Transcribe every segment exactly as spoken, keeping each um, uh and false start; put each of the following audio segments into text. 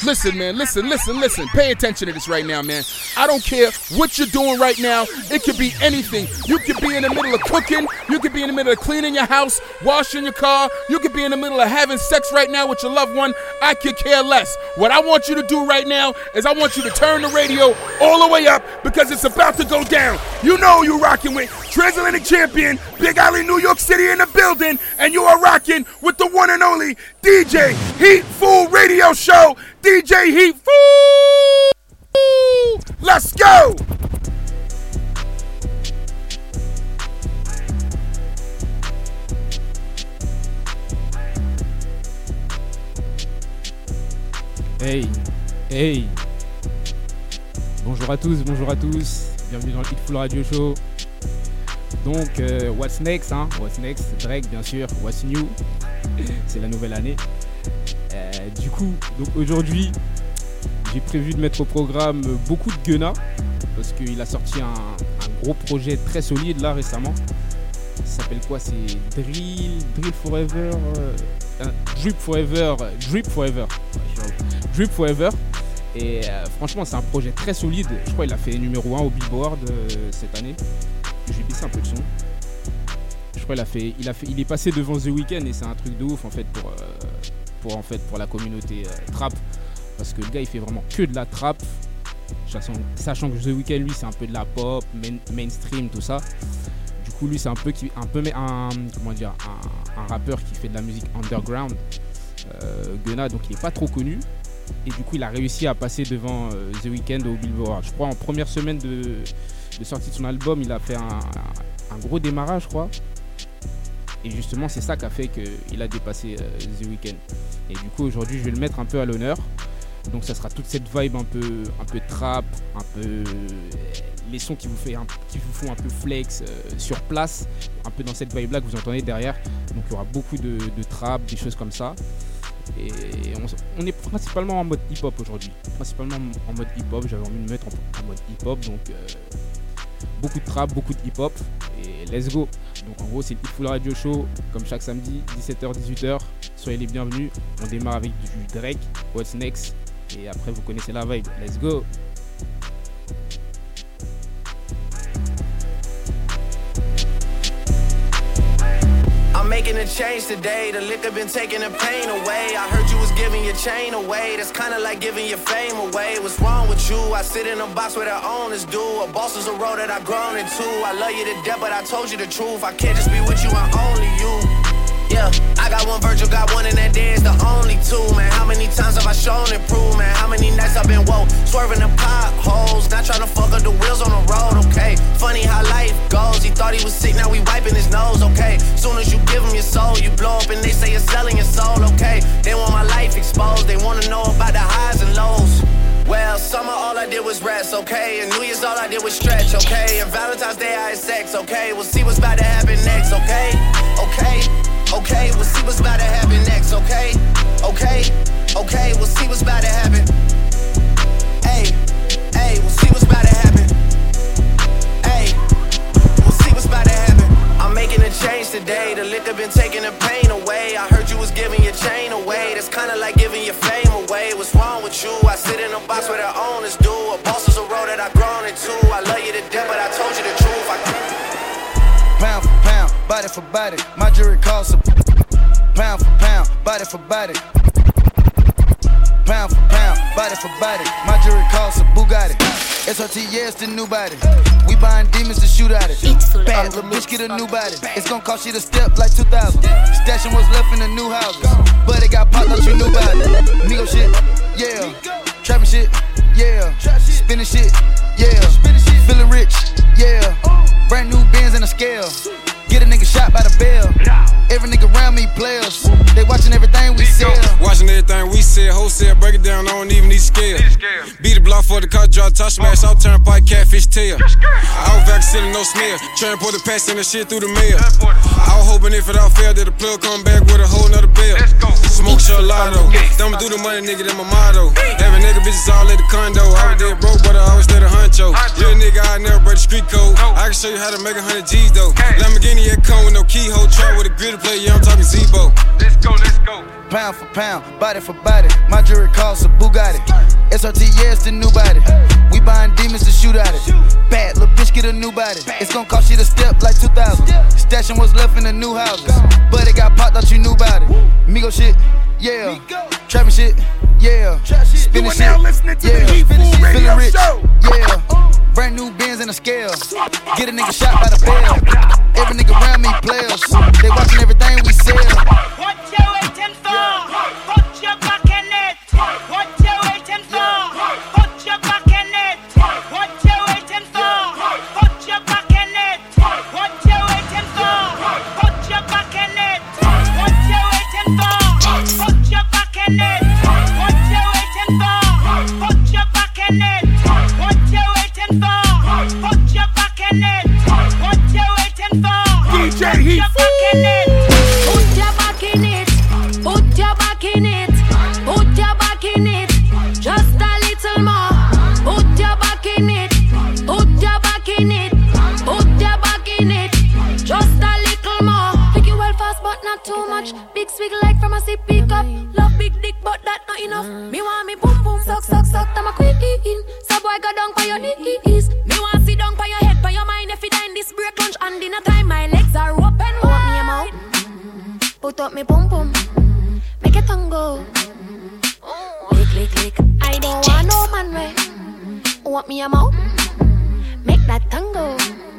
Listen, man, listen, listen, listen. Pay attention to this right now, man. I don't care what you're doing right now. It could be anything. You could be in the middle of cooking. You could be in the middle of cleaning your house, washing your car. You could be in the middle of having sex right now with your loved one. I could care less. What I want you to do right now is I want you to turn the radio all the way up because it's about to go down. You know who you're rocking with. Transatlantic champion, Big Alley, New York City in the building, and you are rocking with the one and only D J Heat Fool Radio Show. D J Heat Fool! Let's go! Hey, hey. Bonjour à tous, bonjour à tous. Bienvenue dans le Heat Fool Radio Show. Donc, euh, what's next, hein? What's next? Drake, bien sûr. What's new? C'est la nouvelle année. Euh, du coup, donc aujourd'hui, j'ai prévu de mettre au programme beaucoup de Gunna parce qu'il a sorti un, un gros projet très solide là récemment. Ça s'appelle quoi? C'est Drill, Drill Forever, euh, Drip Forever, Drip Forever, Drip Forever. Et euh, franchement, c'est un projet très solide. Je crois qu'il a fait numéro un au Billboard euh, cette année. Je vais baisser un peu le son. Je crois qu'il a fait, il a fait, il est passé devant The Weeknd et c'est un truc de ouf en fait pour, euh, pour en fait pour la communauté euh, trap, parce que le gars il fait vraiment que de la trap, sachant, sachant que The Weeknd lui c'est un peu de la pop, main, mainstream tout ça. Du coup lui c'est un peu qui, un peu un comment dire un, un rappeur qui fait de la musique underground. Euh, Gunna donc il est pas trop connu et du coup il a réussi à passer devant euh, The Weeknd au Billboard. Je crois en première semaine de, de sortie de son album il a fait un, un, un gros démarrage je crois. Et justement, c'est ça qui a fait qu'il a dépassé euh, The Weeknd. Et du coup, aujourd'hui, je vais le mettre un peu à l'honneur. Donc, ça sera toute cette vibe un peu, un peu trap, un peu euh, les sons qui vous, fait un, qui vous font un peu flex euh, sur place, un peu dans cette vibe-là que vous entendez derrière. Donc, il y aura beaucoup de, de trap, des choses comme ça. Et on, on est principalement en mode hip-hop aujourd'hui. Principalement en mode hip-hop. J'avais envie de me mettre en, en mode hip-hop. Donc, euh, beaucoup de trap, beaucoup de hip-hop. Et let's go! Donc en gros c'est le Heat Fool Radio Show comme chaque samedi dix-sept heures dix-huit heures. Soyez les bienvenus. On démarre avec du Drake, What's Next. Et après vous connaissez la vibe. Let's go. I'm making a change today. The liquor been taking the pain away. I heard you was giving your chain away. That's kinda like giving your fame away. What's wrong with you? I sit in a box where the owners do. A boss is a road that I've grown into. I love you to death, but I told you the truth. I can't just be with you, I'm only you. Yeah, I got one Virgil, got one, and that day is the only two, man. How many times have I shown and proved, man? How many nights I've been woke, swerving the potholes, not trying to fuck up the wheels on the road, okay? Funny how life goes, he thought he was sick, now we wiping his nose, okay? Soon as you give him your soul, you blow up and they say you're selling your soul, okay? They want my life exposed, they wanna know about the highs and lows. Well, summer all I did was rest, okay? And New Year's all I did was stretch, okay? And Valentine's Day I had sex, okay? We'll see what's about to happen next, okay? Okay? Okay, we'll see what's about to happen next, okay? Okay, okay, we'll see what's about to happen. Hey, hey, we'll see what's about to happen. Hey, we'll see what's about to happen. I'm making a change today. The liquor been taking the pain away. I heard you was giving your chain away. That's kinda like giving your fame away. What's wrong with you? I sit in a box where the owners do. A boss is a road that I've grown into. I love you to death, but I told you the truth. I can't. Pound for pound, body for body. My jury costs a pound for pound, body for body. Pound for pound, body for body. My jury costs a Bugatti. S R T, yeah, it's the new body. We buying demons to shoot at it. Bad little bitch, get a new body. It's gonna cost you to step like two thousand. Stashing what's left in the new houses. But it got popped up, you knew about it. Migo shit, yeah. Trapping shit, yeah. Spinning shit, yeah. Feeling rich, yeah. Brand new Benz and a scale. Get a nigga shot by the bell. Every nigga around me players. They watching everything we sell. Watching everything we sell. Wholesale, break it down, I don't even need scale. Beat the block for the car, drop top smash, I'll turn pike catfish tail. I was vaccinated, no smear. Transport the pass and the shit through the mail. I was hoping if it all failed, that the plug come back with a whole nother bill. Smoke shot lotto. Thumbing through the money, nigga, that my motto. Having nigga bitches all at the condo. I was dead broke, but I always stayed a huncho. Real nigga, I never break the street code. I can show you how to make a hundred G's though. Lamborghini at come with no keyhole. Try with a grill play, yeah, I'm talking Zebo. Let's go, let's go. Pound for pound, body for body. My jewelry costs a Bugatti. S R T, yeah, it's the new body. We buying demons to shoot at it. Bad little bitch, get a new body. It's gon' cost you to step like two thousand. Stashing what's left in the new houses. But it got popped, thought you knew about it. Migo shit, yeah. Trapping shit, yeah. Spinning shit, yeah. Feeling rich, yeah. Brand new Benz and a scale. Get a nigga shot by the bell. Every nigga around me players. They watching everything we sell. What you waiting for? Put your back in it. What you waiting for? Put your back in it. What you waiting for? Put your back in it. What you waiting for? Put your back in it. What you waiting for? Put your back in it. What you waiting for? Put your back in it. What you waiting for? Put your back in it. What you waiting for? D J Heat. Put your back in it. Put your back in it. Put your back in it. Just a little more. Put your back in it. Put your back in it. Put your back in it. Just a little more. Take it well fast, but not too much. Big swig like from a sippy cup. Love big dick, but that not enough. Me want me boom boom, suck suck suck. I'm a queen. So boy go down for your knees. Me want sit down for your head, for your mind. If you die in this break lunch and dinner time, my legs are open wide. Want me a mouth? Put up me boom boom. Make it tango. Lick lick lick. I don't want no man way. Want me a mouth? Make that tango.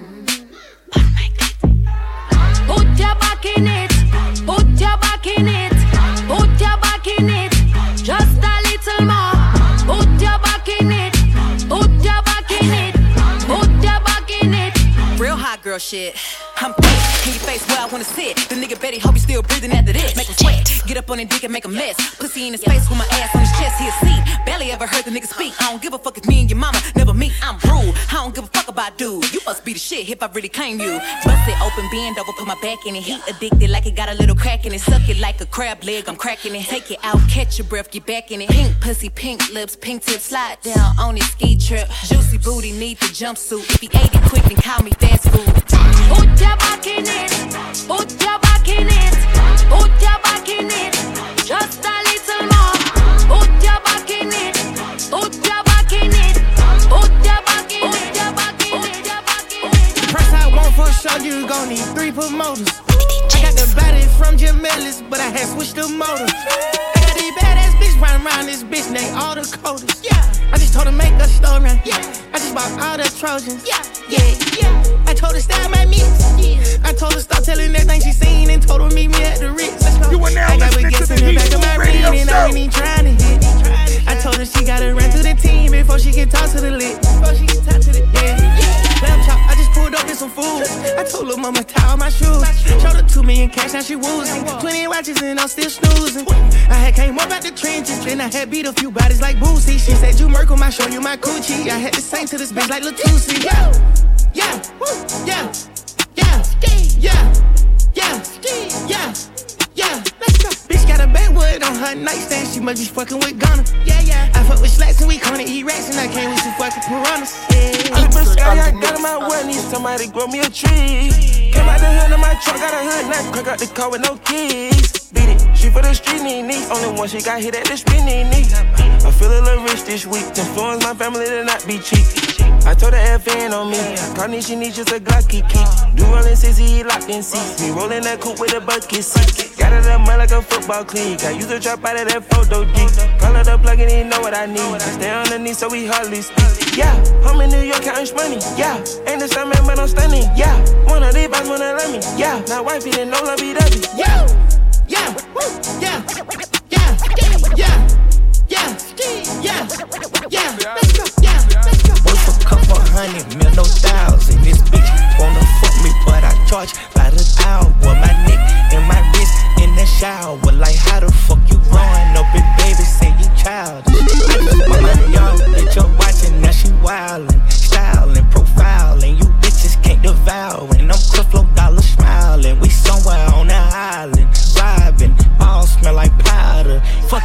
Put your back in it. Put your back in it. Put your back in it. Just a little more. Put your back in it. Put your back in it. Put your back in it. Real hot girl shit. I'm thick. In your face where I wanna sit. The nigga Betty hope you still breathing after this. Make him sweat. Get up on his dick and make a mess. Pussy in his face with my ass on his chest. He a seat. Barely ever heard the nigga speak. I don't give a fuck if me and your mama never meet. I'm rude. I don't give a fuck about dude. You must be the shit if I really claim you. Bust it open, bend over, put my back in it. Heat addicted like it got a little crack in it. Suck it like a crab leg, I'm cracking it. Take it out, catch your breath, get back in it. Pink pussy, pink lips, pink tip, slide down on his ski trip. Juicy booty, need the jumpsuit. If he ate it quick, then call me fast food. Put your back in it. Put your back in it. Put your back in it. Just a little more. Put your back in it. Put your back in it. Put your back in it. Put your back in it. The price I want for a show, you gon' need three promoters. I got the body from Jim Ellis, but I had switched the motor. I got these badass bitch running around this bitch, they all the coders. Yeah. I just told her make a story. Yeah. I just bought all the Trojans. Yeah. Yeah. Yeah. I told her style my mix. Yeah. I told her stop telling everything she seen and told her meet me at the Ritz. Let's go. You are now I got listening to the in the Heat back of my Radio ring and I ain't even trying to hit. I told her she gotta run to the team before she can talk to the lit. Before she can talk to the yeah. Lamb chop, I just pulled up in some food. I told her mama tie all my shoes. Showed her two million cash, now she woozing. Twenty watches and I'm still snoozing. I had came up out the trenches, then I had beat a few bodies like Boosie. She said you Merkle, I show you my coochie. I had to sing to this bitch like Latusi. Yeah, yeah, yeah, yeah, yeah, yeah, yeah, yeah. Let's go. Bitch got a backwood on her nightstand. She must be fucking with Ghana. Yeah, yeah. I fuck with slacks and we gonna eat rats and I came with some fucking piranhas. Yeah. I been scary, I got in my way, need somebody grow me a tree. Came out the hood of my truck, got a hood knife, crack out the car with no keys. Beat it, she for the street knee knee. Only one she got hit at the spinning knee. I feel a little rich this week. Influence my family to not be cheap. I told her F N on me. Carney, she needs just a Glocky key. Do rollin' sixty, he locked in seats. Me rollin' that coupe with a bucket seat. Got it up mud like a football clique. I use a drop out of that photo D. Call her the plug and he know what I need. I stay underneath so we hardly speak. Yeah, I'm in New York counting money. Yeah, ain't the same man but I'm stunning. Yeah, one of these boys wanna love me. Yeah, now wifey didn't know love be W. Yeah, yeah, yeah, yeah, yeah, yeah, yeah, yeah. Let's go, yeah, let's go. Worth a couple hundred mil, no thousand. This bitch wanna fuck me, but I charge by the hour. My neck and my wrist in the shower. Like how the fuck you growing up, and baby say you childish. I just put money on, let your watching, now she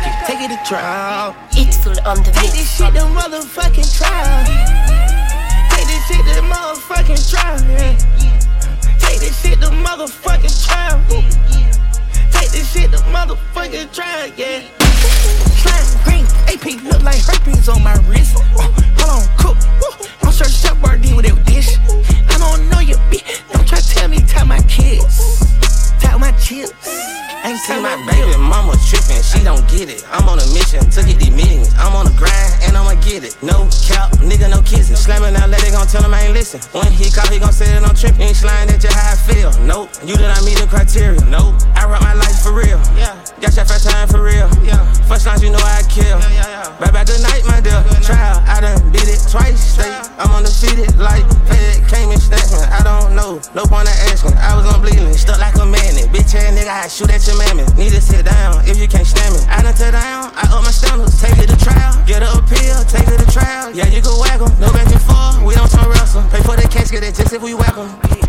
it, take it to trial. It's full on the Take this shit to motherfucking trial. Take this shit to motherfucking trial. Yeah. Take this shit to motherfucking trial. Take this shit to motherfucking trial. Yeah. Slime green, A P look like herpes on my wrist. Uh, hold on, cook. Woo. I'm sure Chef Boyardee with that dish. I don't know your bitch. Don't try to tell me tell my kids. Tell my chips. Ain't see my baby mama trippin', she don't get it. I'm on a mission to get these millions. I'm on the grind and I'ma get it. No cap, nigga, no kissing. Slamming out, let it gon' tell him I ain't listen. When he call, he gon' say that I'm trippin'. Ain't sliding at you how I feel. Nope, you did not meet the criteria. Nope, I rap my life for real. Yeah, got your first time for real. Yeah, first lines you know I kill. Yeah, yeah, yeah. Bye bye, good night, my dear. Trial, I done beat it twice. Straight, I'm undefeated like Fed came and snatched me. I don't know, no point in asking. I was on bleeding, stuck like a magnet. Bitch ass nigga, I shoot at your mammy. Need to sit down if you can't stand me. I done tear down, I up my standards. Take it to trial, get her appeal, take it to trial. Yeah, you can whack em, no back and forth, we don't turn wrestle. Pay for the casket, that's just if we whack em.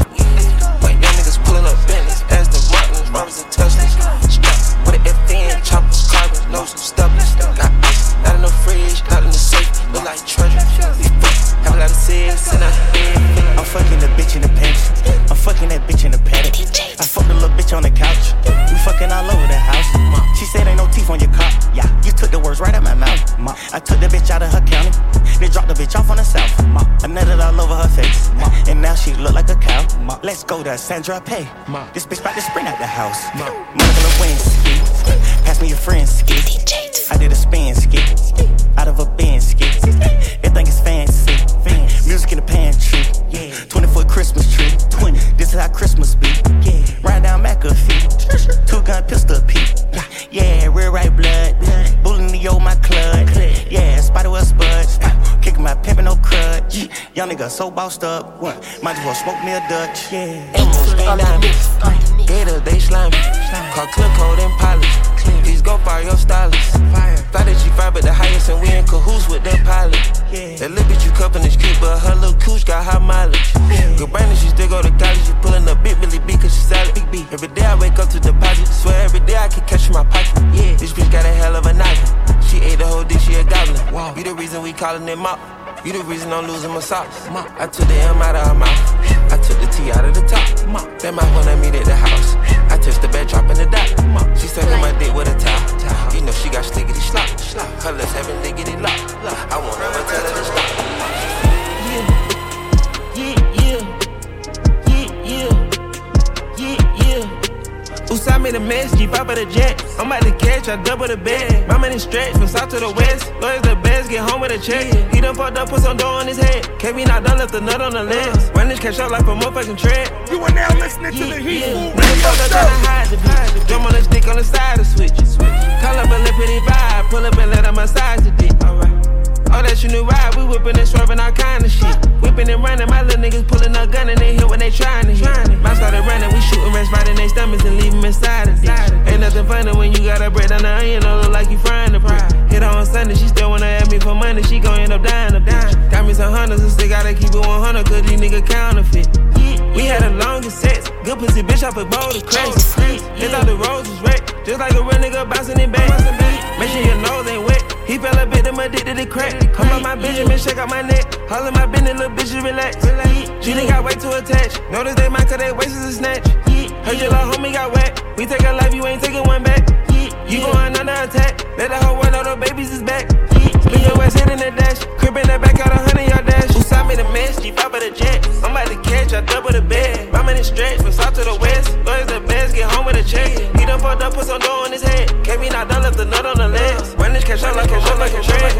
Like young niggas pulling up Bentleys, Aston Martins, Robbers and Teslas. Straps with an F N, choppers, carbon, loads and stubblers. Got ice, not in the fridge, not in the safe, look like treasure. Have a lot of sex and I I'm fucking the bitch in the pants. I'm fucking that bitch in the paddock. I fucked a little bitch on the couch. We fucking all over the house. She said ain't no teeth on your car. Yeah, you took the words right out my mouth. I took the bitch out of her county. They dropped the bitch off on the south. I nutted all over her face. And now she look like a cow. Let's go to Sandra Pay. This bitch about to sprint out the house. Monica Lewinsky. Pass me your friend's ski. I did a spin ski. Out of a bin ski. Everything is fancy. Music in the pantry. twenty foot Christmas tree. This is how Christmas be. Ride down McAfee. Two gun pistol P. Yeah, real right blood. Bullying the old my club. Yeah, spider well spud. Kicking my pimpin' no crud. Young nigga so bossed up. Might as well smoke me a Dutch. Yeah. Emeralds, green diamonds. Gators, they slimy. Call clip code and polish. Please go fire your stylist. Fly the G five at the highest and we in cahoots with the pilot. That little bitch you cuffin' is cute, but her little cooch got high mileage. Good Brandon, she still go to college. She pullin' up big Billy B cause she solid. Big B. Every day I wake up to deposit. Swear every day I can catch in my pocket. Yeah. This bitch got a hell of a noggin. She ate the whole dish, she a goblin. Wow. You the reason we callin' it mop. You the reason I'm losing my socks. I took the M out of her mouth. I took the T out of the top. That mouth when I meet at the house. I touched the bed, dropping the dot. She sucking my dick with a towel. You know she got slickety slop. Her lips having lickety lock. I won't ever tell her to stop. Yeah, yeah, yeah, yeah, yeah, yeah. Usai made a mess, G five of the jet. I'm about to catch, I double the bed. My money stretch from south to the west. Lawyers the best, get home with a check. He done fucked up, put some dough on his head. K B not done, left the nut on the lens. Run this cash out like a motherfucking tread. You are now listening to the Heat Food Radio Show. Tryna hide the bitch. Drum on the stick on the side of switch. Call up a lippity vibe, pull up and let her massage the dick. Alright. Oh, that's your new ride, we whippin' and swervin' all kind of shit. Whippin' and runnin', my little niggas pullin' up gun and they hit when they tryin' to hit. Mouth started runnin', we shootin' rats right in they stomachs and leave them inside the ditch. Ain't nothing funny when you got a bread down the onion, don't look like you fryin' the brick. Hit her on Sunday, she still wanna ask me for money, she gon' end up dying a bitch. Got me some hunters and still gotta keep it one hundred cause these niggas counterfeit. We had the longest sex, good pussy bitch, I put bold to cracks. His all the roads was wrecked, just like a real nigga bouncing it back. Make sure your nose ain't wet. He fell a bit, them addicted to crack. Come up my Benjamin, shake out my neck. All of my business, little bitches relax. She done got way too attached. Notice they might cut their waist is a snatch. Heard your little homie got whacked. We take a life, you ain't taking one back. You going under attack. Let the whole world know the babies is back. Spin your ass hit in the dash. Crib in the back, out a hundred yard dash. Usai made a mess, G five of the jet. I'm about to catch, I double the bed. My money stretch from south to the west. Lawyers the best, get home with a check. He done fucked up, put some dough on his head. K B not done, left the nut on the legs. Run this cash out like a roll, like a tread.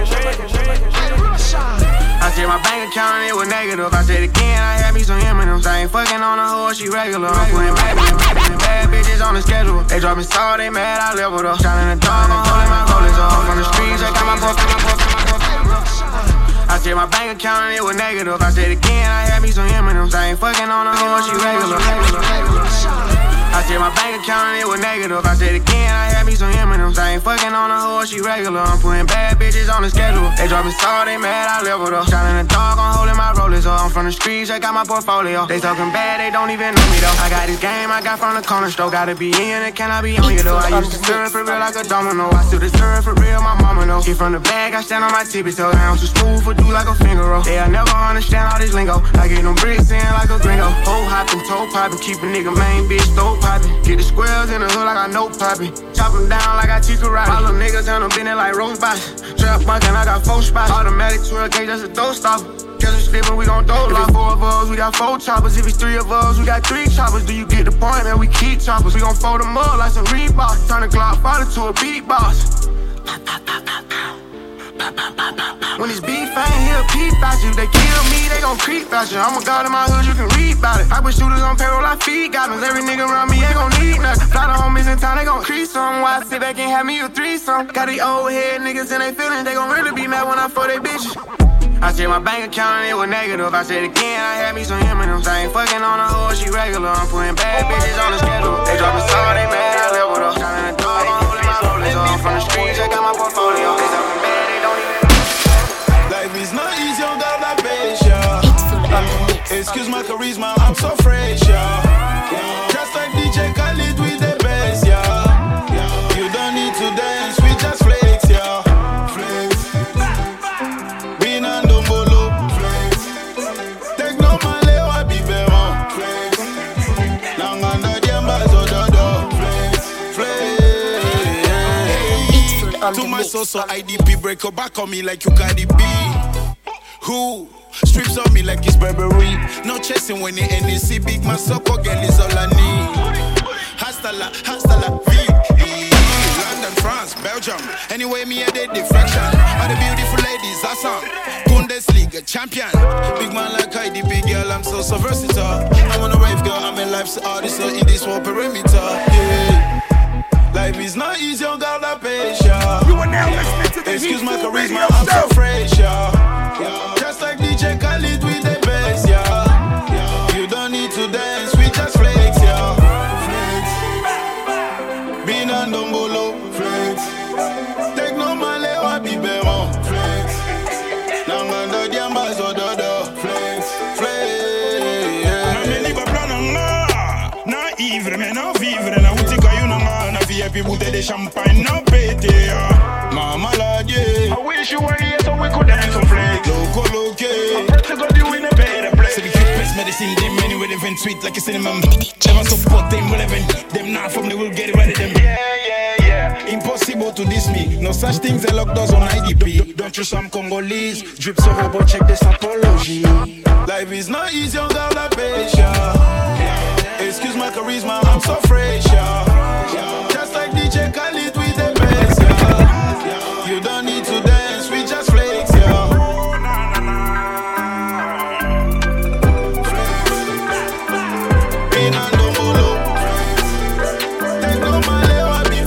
I said my bank account and it was negative. I said again, I had me some M and M's. I ain't fucking on a hoe, she regular. I'm putting bad, bad bitches on the schedule. They dropping salt, they mad, I leveled up. Shining the dog, I'm holding my rollers up. From the streets, I got my book, my book, my book. I said my bank account and it was negative. I said again, I had me some M and M's. I ain't fucking on a hoe, she regular. I said my bank account and it was negative. I said again, I had me some M and M's. I ain't fucking on a hoe, she regular. I'm putting bad bitches on the schedule. They dropping salt, they mad, I leveled up. Shot in the dark, I'm holding my rollers up. I'm from the streets, I got my portfolio. They talking bad, they don't even know me though. I got this game, I got from the corner store. Gotta be in it, can I be on you though? I used to serve for real like a domino. I still deserve for real, my mama know. Get from the bag, I stand on my tippy toes. I am too smooth for do like a finger roll. They'll never understand all this lingo. I get them bricks in like a gringo. Hoe hopping, toe popping, keep a nigga main bitch throat popping. Get the squares in the hood like I know popping. Chop them down like I teach karate. All them niggas on them bending like roast box. Trap bunkin', I got four spots. Automatic twelve gauge, that's a throw stopper. Catch us slippin', we gon' throw. If it's four of us, we got four choppers. If it's three of us, we got three choppers. Do you get the point, man? We keep choppers. We gon' fold them up like some Reeboks. Turn the Glock fighter to a beatbox. When it's beef, I ain't here peep about you. They kill me, they gon' creep about you. I'm a god in my hood, you can read about it. I put shooters on payroll, I feed goblins. Every nigga around me ain't gon' need nothing. Fly the homies in town, they gon' crease some. Why I sit back and have me a threesome? Got these old head niggas and they feelings. They gon' really be mad when I fuck they bitches. I said my bank account and it was negative. I said again, I had me some M and M's. I ain't fucking on a hoe, she regular. I'm putting bad bitches on the schedule. They dropping salt, they mad, I leveled up. Shot in the dark, I'm holding my rollers up. I'm from the streets, I got my portfolio. They talking bad, they don't even. Life is not easy, on God like patience. Excuse my charisma, I'm so fresh, yeah. Just like D J Khaled with the bass, yeah. You don't need to dance, we just flex, yeah. Flex. Bin and Dombolo, flex. Take no male, I be better, flex. Long under the ambassador, flex. Flex. To my so-so I D P, break your back on me like you got it B. Who strips on me like it's Burberry? No chasing when the N E C big, my sucker girl is all I need. Hasta la, hasta la vie. London, France, Belgium. Anyway, me a dead diffraction. All the beautiful ladies, I song. Bundesliga champion. Big man like I D P, girl, I'm so so versatile. I'm on a rave, girl, I'm in life's artist, so in this whole perimeter. Yeah. Life is not easy, on God like patience. You are now listening to the Excuse my charisma, I'm so fresh, yeah. Yeah. Just like D J Khaled with the bass, yeah. Yeah. You don't need to dance, we just flex, yeah. Flex. Bin and Dombolo, flex. Take no male, I be better, flex. Long under the ambassador, flex, flex. Na me liba plan na ivre, me na vivre, na utika you na na vie bouteille de champagne, na pété, mama la yeah. I wish you were here so we could dance on flex. Loco, loco. I'm ready to go do in a better place. So the kick best medicine, them anyway, they vent sweet like a cinnamon. Never support them, well, even them not from the will get rid of them. Yeah, yeah, yeah. Impossible to diss me. No such things, they lock doors on I D P. Don't you some Congolese? Drip so robot, check this apology. Life is not easy, on God like patience. Excuse my charisma, I'm so fresh, yeah. Just like D J Khaled with the bass, yeah. You don't need to dance, we just flex, yeah. Bin and Dombolo, take no male, I be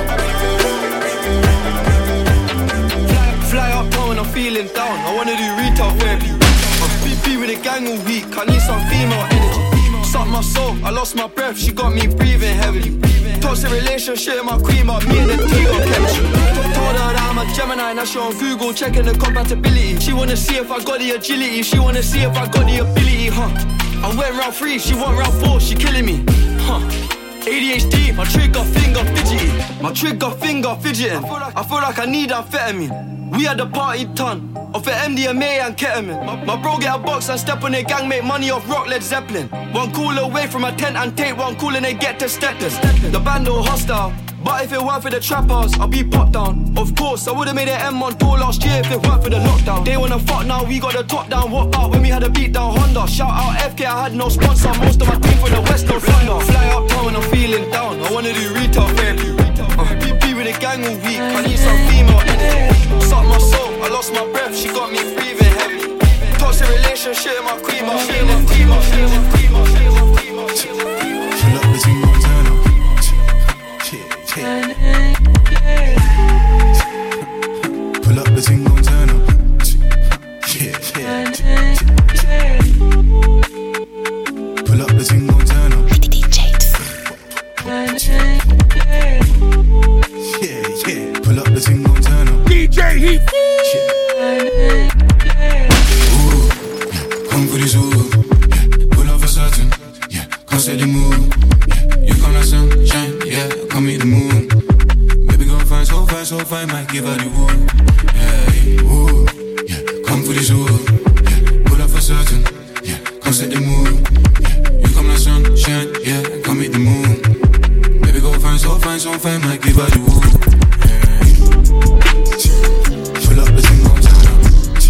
better. Fly up town when I'm feeling down. I wanna do retail therapy. I'm P P with a gang all week. I need some female energy. Suck my soul, I lost my breath. She got me breathing heavily. Toxic relationship, my queen, but me and the T got chemistry. Told her that I'm a Gemini, now she on Google checking the compatibility. She wanna see if I got the agility. She wanna see if I got the ability, huh? I went round three, she went round four, she killing me, huh? A D H D, my trigger finger fidgety. My trigger finger fidgeting. I feel like I need amphetamine. We had the party ton of the M D M A and ketamine. My, my bro get a box and step on their gang, make money off rock Led Zeppelin. One call away from a tent and take one call and they get to Stetton. The band all hostile, but if it weren't for the trappers, I'll be popped down. Of course, I would've made an M one tour last year if it weren't for the lockdown. They wanna fuck now, we got the top down. What about when we had a beat down Honda? Shout out F K, I had no sponsor. Most of my team from the West, no thunder. Fly up town when I'm feeling down. I wanna do retail therapy. Uh, P P with a gang all week. I need some female energy. Suck my soul, I lost my breath. She got me breathing heavy. Toxic relationship, my queen, my queen, my queen, my queen, my queen, my queen, my queen, my queen. Pull up the thing, gon' turn up. Pull up the thing, gon' turn up. Pull up the thing, gon' turn up. everything gon' turn up. D J Heat. Ooh, yeah, come for this ooh. Yeah, pull off a certain. Yeah, come set the mood. Yeah, you come like sunshine. Yeah, come meet the moon. Baby gon' find so fine, so fine, might give her the woo. Yeah, ooh, yeah, come for this ooh. Yeah, pull off a certain. Yeah, come set the mood. Yeah, you come like sunshine. Yeah, come meet the moon. Baby gon' find so fine, so fine, might give her the woo. Pull up the thing gon' turn up.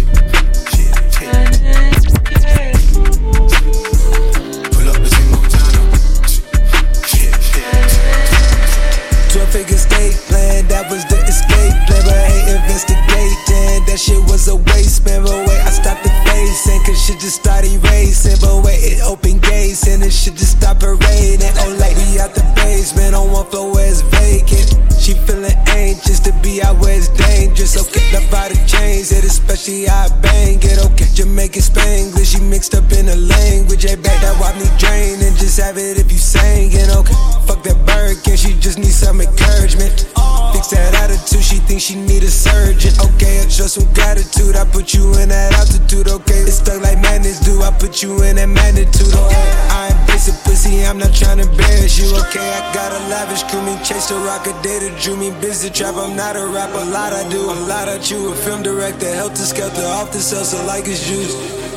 Pull up the thing gon' turn up. twelve figure state plan, that was the escape plan. But I hate investigating, that shit was a waste, man. But wait, I stopped the facing, cause shit just started racing. But wait, it opened gates, and it shit just stopped parading. Oh, like we out the basement, on one floor where it's vacant. She feeling anxious to be out where it's dangerous. Okay, love by the chains, it especially how I bang it. Okay, Jamaican Spanglish, she mixed up in the language. Hey, back that wipe me drain and just have it if you singing. Okay, fuck that Birkin, she just needs some encouragement. Fix that attitude, she thinks she need a surgeon. Okay, I show some gratitude, I put you in that altitude. Okay, it's stuck like madness do, I put you in that magnitude. Okay, I embrace a pussy, I'm not trying to embarrass you. Okay, I got a lavish crew, me chase the rock a day to drew me busy trap. I'm not a rapper, a lot I do, a lot I chew. A film director, helter skelter, off the cells, so like it's juice.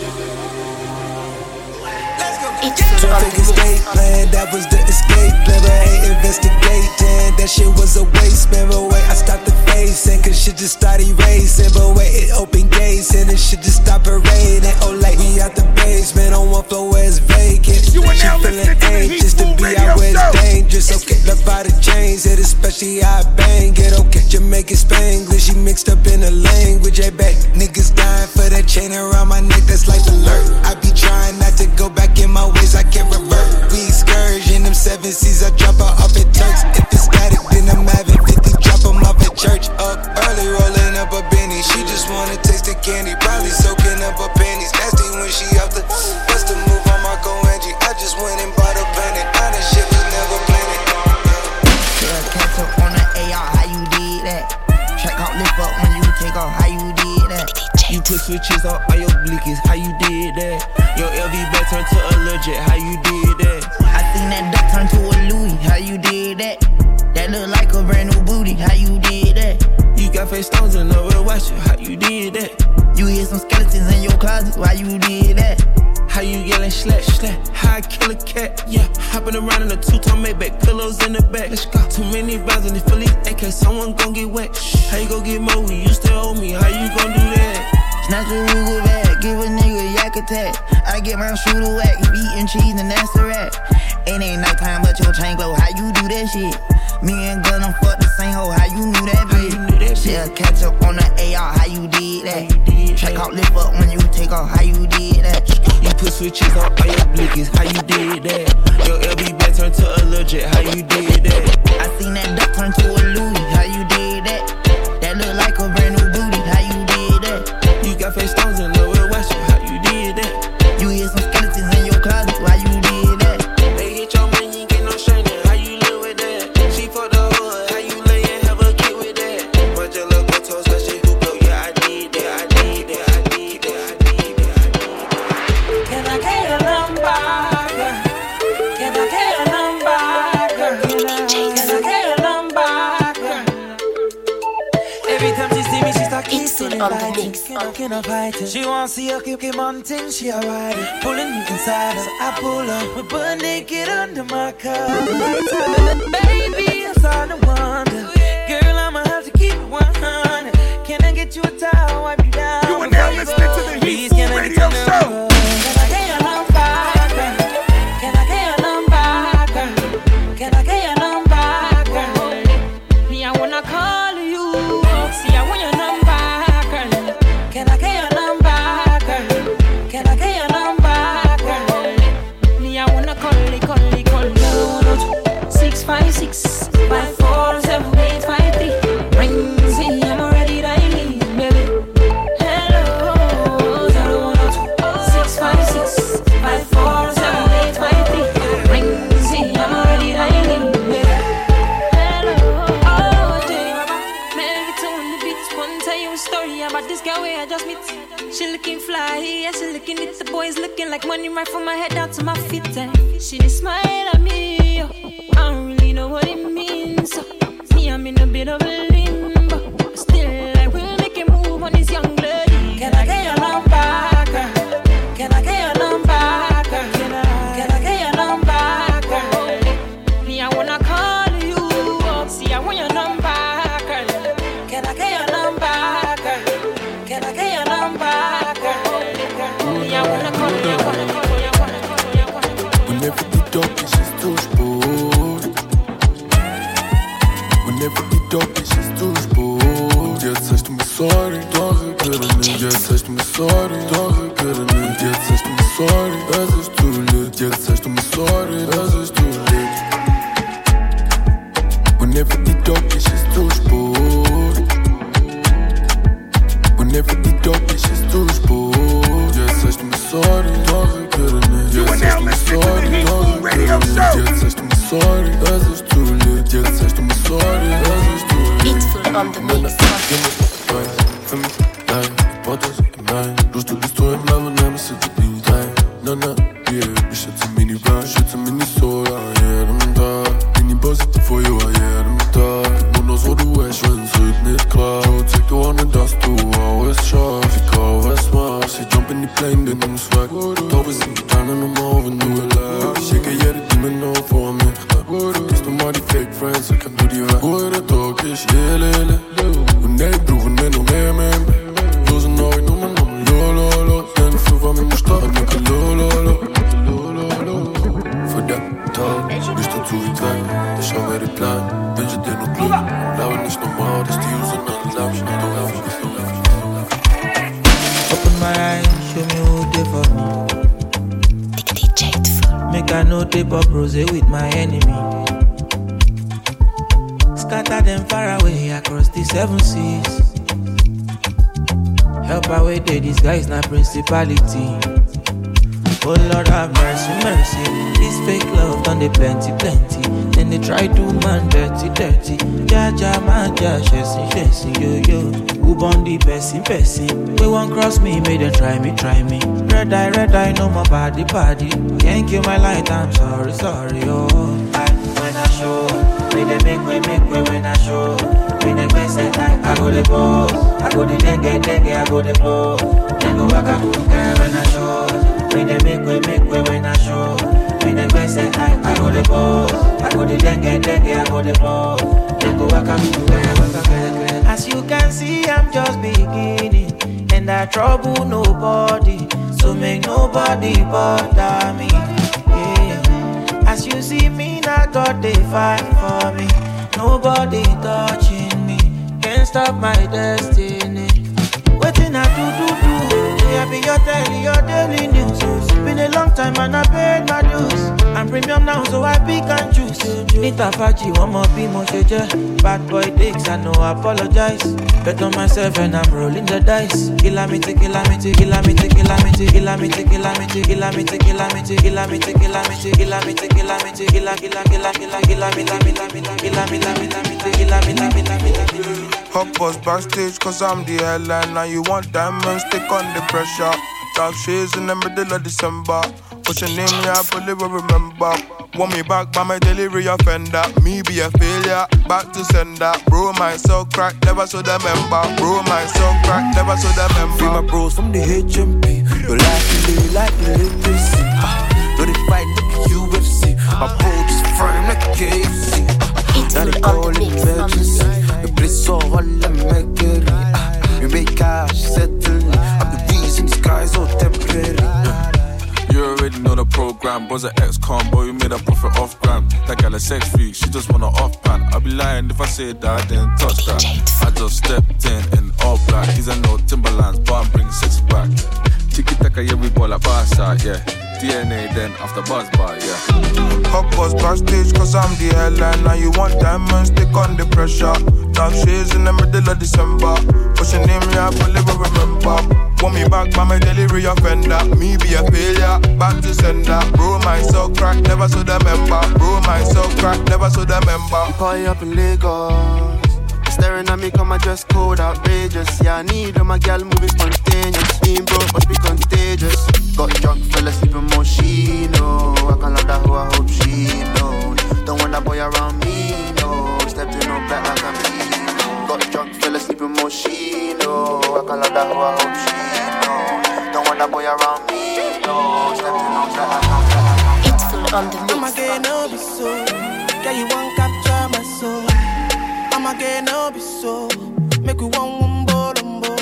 twelve figure state plan, that was the escape plan. But I hate investigating, that shit was a waste, man. But wait, I stopped the facing, cause shit just started racing. But wait, it opened gates, and it shit just stopped parading. Oh, like we out the basement, on one floor where it's vacant. She feeling anxious to be out where it's dangerous. Okay, love by the chains, it especially how I bang it. Okay, Jamaican Spanglish, she mixed up in the language. Hey, back, niggas dying for that chain around my neck, that's life alert. I be trying not to go back in my ways, I can't revert. We excursion, them seven seas, I drop her off at Turks. If it's static, then I'm having fifty, drop them off at church. Up early, rolling up a Benny. She just wanna taste the candy, probably soaking up her panties. Nasty when she off the bust the move on Marco Angie. I just went and bought a planet. All that shit was never planned. Yeah, catch up on the A R, how you did that? Track out, lift up when you take off, how you did that? You put switches on all your blickies, how you did that? Your L V bag turned to a legit, how you did that? I seen that duck turn to a Louis, how you did that? That look like a brand new booty, how you did that? You got face stones in the real watch it, how you did that? You hear some skeletons in your closet, why you did that? How you yelling slap, slap, how I kill a cat, yeah. Hopping around in a two-tone Maybach, pillows in the back, let's go. Too many rounds in the Philly, A K, someone gon' get wet. How you gon' get more when you still owe me, how you gon' do that? Snatch a Ruger bag, give a nigga a yak attack. I get my shooter whack, eating cheese and that's a rat. It ain't nighttime but your chain glow, how you do that shit? Me and Gun done fuck the same hoe, how you knew that bitch? Yeah, catch up on the A R, how you did that? Check out, lift up when you take off, how you did that? You put switches on all your blickies, how you did that? Your L B bag turned to a legit, how you did that? I seen that duck turn to a Louis, how you did that? That look like a brand new booty, how you did that? You got face stones in the real watch it, how you did that? You hear some skeletons in your closet, why you did that? They hit your man, you ain't get no shining, how you live with that? She for the hood, how you lay and have a kid with that? But your little toes, that shit who blow, yeah, I did that, I did that, I did that, I did that, I did that. Can I get a number, girl? Can I get a number, girl? Can I get a number, girl? Every time she see me, she start kissing on the mix. Can I fight it? She wants to see her keep him on things, she alright. Pulling me inside, so I pull up. We're butt naked under my car. Baby, I'm starting to wonder. Girl, I'ma have to keep it one hundred. Can I get you a towel, wipe you down? You are now listening to the Heat Food Radio Show. Can I get a number, girl? Can I get a number, girl? Can I get a number, girl? Me, I wanna call you. See, I want your number, girl. Can I get a number, girl? Can I get a number, girl? Me, I wanna call it, call it, call it. Six five six five four seven eight five three. Ring, see, I'm already dialing, baby. tell you a story about this girl where I just meet. She looking fly, yeah, she looking at the boys looking like money right from my head down to my feet. And she just smile at me, yo. I don't really know what it means. So, me, I'm in a bit of a limbo. But still, I will make a move on this young lady. Can I get your number, girl? Can I get your number, girl? Can I, can I get your number, girl? Me, I wanna call you up. See, I want your number, girl. Can I get your number, girl? Can I get your number, girl? Me, I wanna call you, I wanna call you, I wanna call you, I wanna call you. Whenever the dog is just too sport. Whenever the dog is just too sport. Jetzt sagst du mir sorry, doch ich will nicht. Jetzt sagst du mir sorry, doch ich will nicht. Jetzt sagst du mir sorry, es ist too late. Jetzt sagst du mir sorry, es ist too late. Whenever the dog is just too sport. Whenever the dog is just too sport. Jetzt sagst du mir sorry, doch ich will nicht. Jetzt sagst du mir sorry, doch ich will nicht. Jetzt sagst du mir sorry, es ist too late. Jetzt sagst du mir sorry, es ist too late. Beatful on the mix. Für mich, nein, ich brauch das, nein. Bloß du bist du im Leben und nimmst du die rein. Na, na, yeah, ich schätze mir die Wahl, schätze mir nicht so, ja, jedem Tag. Bin die Positive for you, ja, jedem Tag. Nur noch so, du echt, wenn's heute nicht klar. Zeig du an, dass du alles schaffst. Egal was machst, ich jump in die Plane, den nimm's weg. Taube sind die Kleinen normal, wenn du erlebst. Ich schicke jede Demon auf vor mir. Gehst du mal die Fake Friends, dann kann du die weg. Wo der Tag ist, yeah, lele. Und ey, brauchen wir noch mehr, mehr, mehr. Los und neu, Nummer, Nummer, lo, lo, lo. Denn für war mir nicht da, nicke, lo, lo, lo. Für den Tag bist du zu weit weg. Ich schau mir den Plan, wünsche dir nur Glück. Glaube nicht normal, dass die User nach Lauf schnell du lauf, schnell du lauf, schnell du lauf. Open my eyes, show me who they for me. Make I know they pop rose with my enemy. Scatter them far away across the seven seas. Help away they disguise na principality. Oh Lord have mercy, mercy. This fake love done they plenty, plenty. Then they try to man dirty, dirty. Ja ja man ja, chasing, chasing, yo yo. Who born the person, person? We won't cross me, make them try me, try me. Red eye, red eye, no more body, body. Can't kill my light, I'm sorry, sorry, oh. I, when I show, when they make way, make way when I show. When they play say I, I go the pose. I go the dengue, dengue, I go the blow. Then go back, I go when I show. When they make way, make way when I show. When they play say I, I go the pose. I go the dengue, dengue, I go the blow. Then go back, I go as you can see, I'm just beginning. And I trouble nobody. So make nobody bother me. Yeah. As you see me, now God they fight for me. Nobody touching me. Can't stop my destiny. Waiting I do do do. Yeah, be your daily, your daily news. Been a long time and I paid my dues. I'm premium now, so I pick and choose. Nita Faji, one more be more shade. Bad boy dicks, I no apologize. Bet on myself and I'm rolling the dice. Kilamite, kilamite, kilamite, kilamite, kilamite, kilamite, kilamite, kilamite, kilamite, kilamite, kilamite, kilamite, kila, kila, kila, kila, kila, kila, kila, kila, kila, kila, kila, kila, kila. Hot boss backstage cause I'm the headline. Now you want diamonds, take on the pressure. Dark shades in the middle of December. What's your name, yeah, I fully will remember. Want me back by my delivery offender. Me be a failure, back to sender. Bro, my soul crack, never saw the member. Bro, my soul crack, never saw the member. Free my bros from the H M P. Your life to live like the legacy. No, they fight like the U F C. My bro just firm like K F C. Now they call it emergency. The bliss all I'm making. You make cash, settle. I'm the reason these guys all temporary. You already know the program. Was an ex-con, boy, we made a profit off gram. That gal a sex freak, she just wanna off pan. I'd be lying if I said that I didn't touch that. I just stepped in in all black. These are no Timberlands, but I'm bringing sexy back. Tiki-taka, yeah, we ball like Barca, yeah. D N A then after buzz bar, yeah. Hot boss backstage cause I'm the headline. Now you want diamonds, take on the pressure. Dark shades in the middle of December. What's your name, yeah, I fully will remember. Want me back by my delivery offender. Me be a failure, back to sender. Bro, my soul crack, never saw the member. Bro, my soul crack, never saw the member. Party up in Lagos. staring at me, come my dress code outrageous. Yeah, I need all my gal moving spontaneous. Being broke must be contagious. Got drunk, fell asleep in Moschino. I can't love that who I hope she knows. Don't want that boy around me, no. Stepped in on black like I'm Eno. Got drunk, fell asleep in Moschino. I can't love that who I hope she knows. Don't want that boy around me, no. Stepped in on black like I'm Eno. It's full on the mix. I'm again, no be so. Yeah, you won't capture my soul. I'm again, no be so. Make you one one bowl and bowl.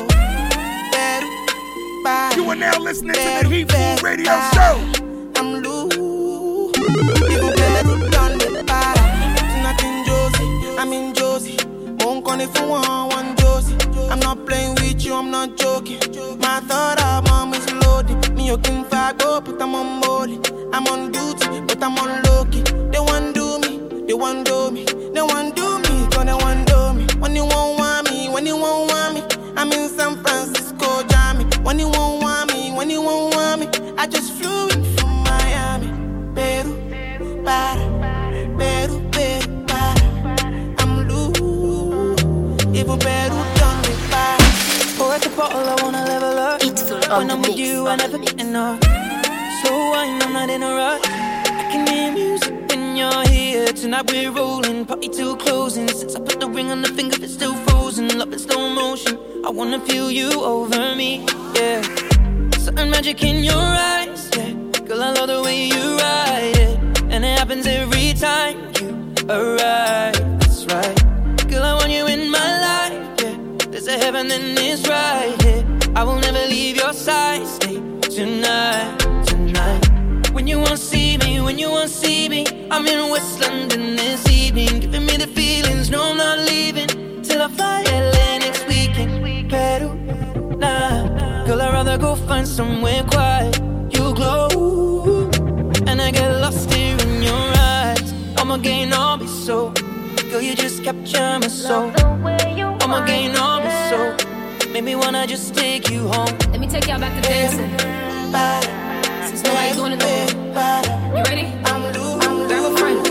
You are now listening to the Heat Food Radio Show. I'm loose. People better done the para. Nothing Josie. I'm in Josie. Won't call if you want one Josie. I'm not playing with you, I'm not joking. My thought of mom is loaded. Me, you can fire go, but I'm on molly. I'm on duty, but I'm on low key. They want do me, they want do me. They want do me, cause they want do me. When you won't want me, when you won't want me. I'm in San Francisco, Jammy. When you won't want me, when you won't want me. I just flew in from Miami. Peru, para, Peru, Peru, para. I'm loose. Even Peru done me para. Pour at the bottle, I wanna level up. It's full on when the I'm mix. with you, I never get enough. So wine, I'm not in a rush. I can hear music when you're here. Tonight we're rolling, party till closing. Since I put the ring on the finger, it's still frozen. Love in slow motion. I wanna feel you over me, yeah. Certain magic in your eyes, yeah. Girl, I love the way you ride it. And it happens every time you arrive, that's right. Girl, I want you in my life, yeah. There's a heaven and it's right here. Yeah. I will never leave your side, stay tonight, tonight. When you won't see me, when you won't see me, I'm in West London this evening. Giving me the feelings, no I'm not leaving till I fly L A next weekend. Peru, nah. Girl, I'd rather go find somewhere quiet. You glow, and I get lost here in your eyes. I'm again, I'll be so. Girl, you just capture my soul. I'm again, I'll be so. Make me wanna just take you home. Let me take y'all back to dancing. Since nobody's doing it no more. You ready? I'm loose. Grab a friend.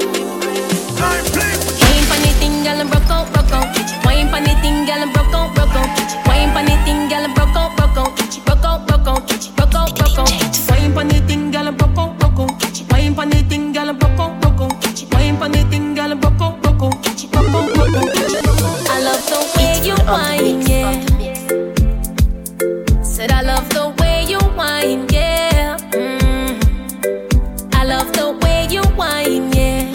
Wine pon the thing, girl, and broke out, broke out. Wine pon the thing, girl, and broke out, broke out. Wine pon the thing, girl, and broke out, broke out. Broke out, broke out, broke out, broke out. Wine pon the thing, girl, and broke out, broke out. Wine pon the thing, girl, and broke out, broke out. Wine pon the thing, girl, and broke out, broke out. Broke out, broke out. I love the way you whine, yeah. Said I love the way you whine, yeah. Mm. I love the way you whine, yeah.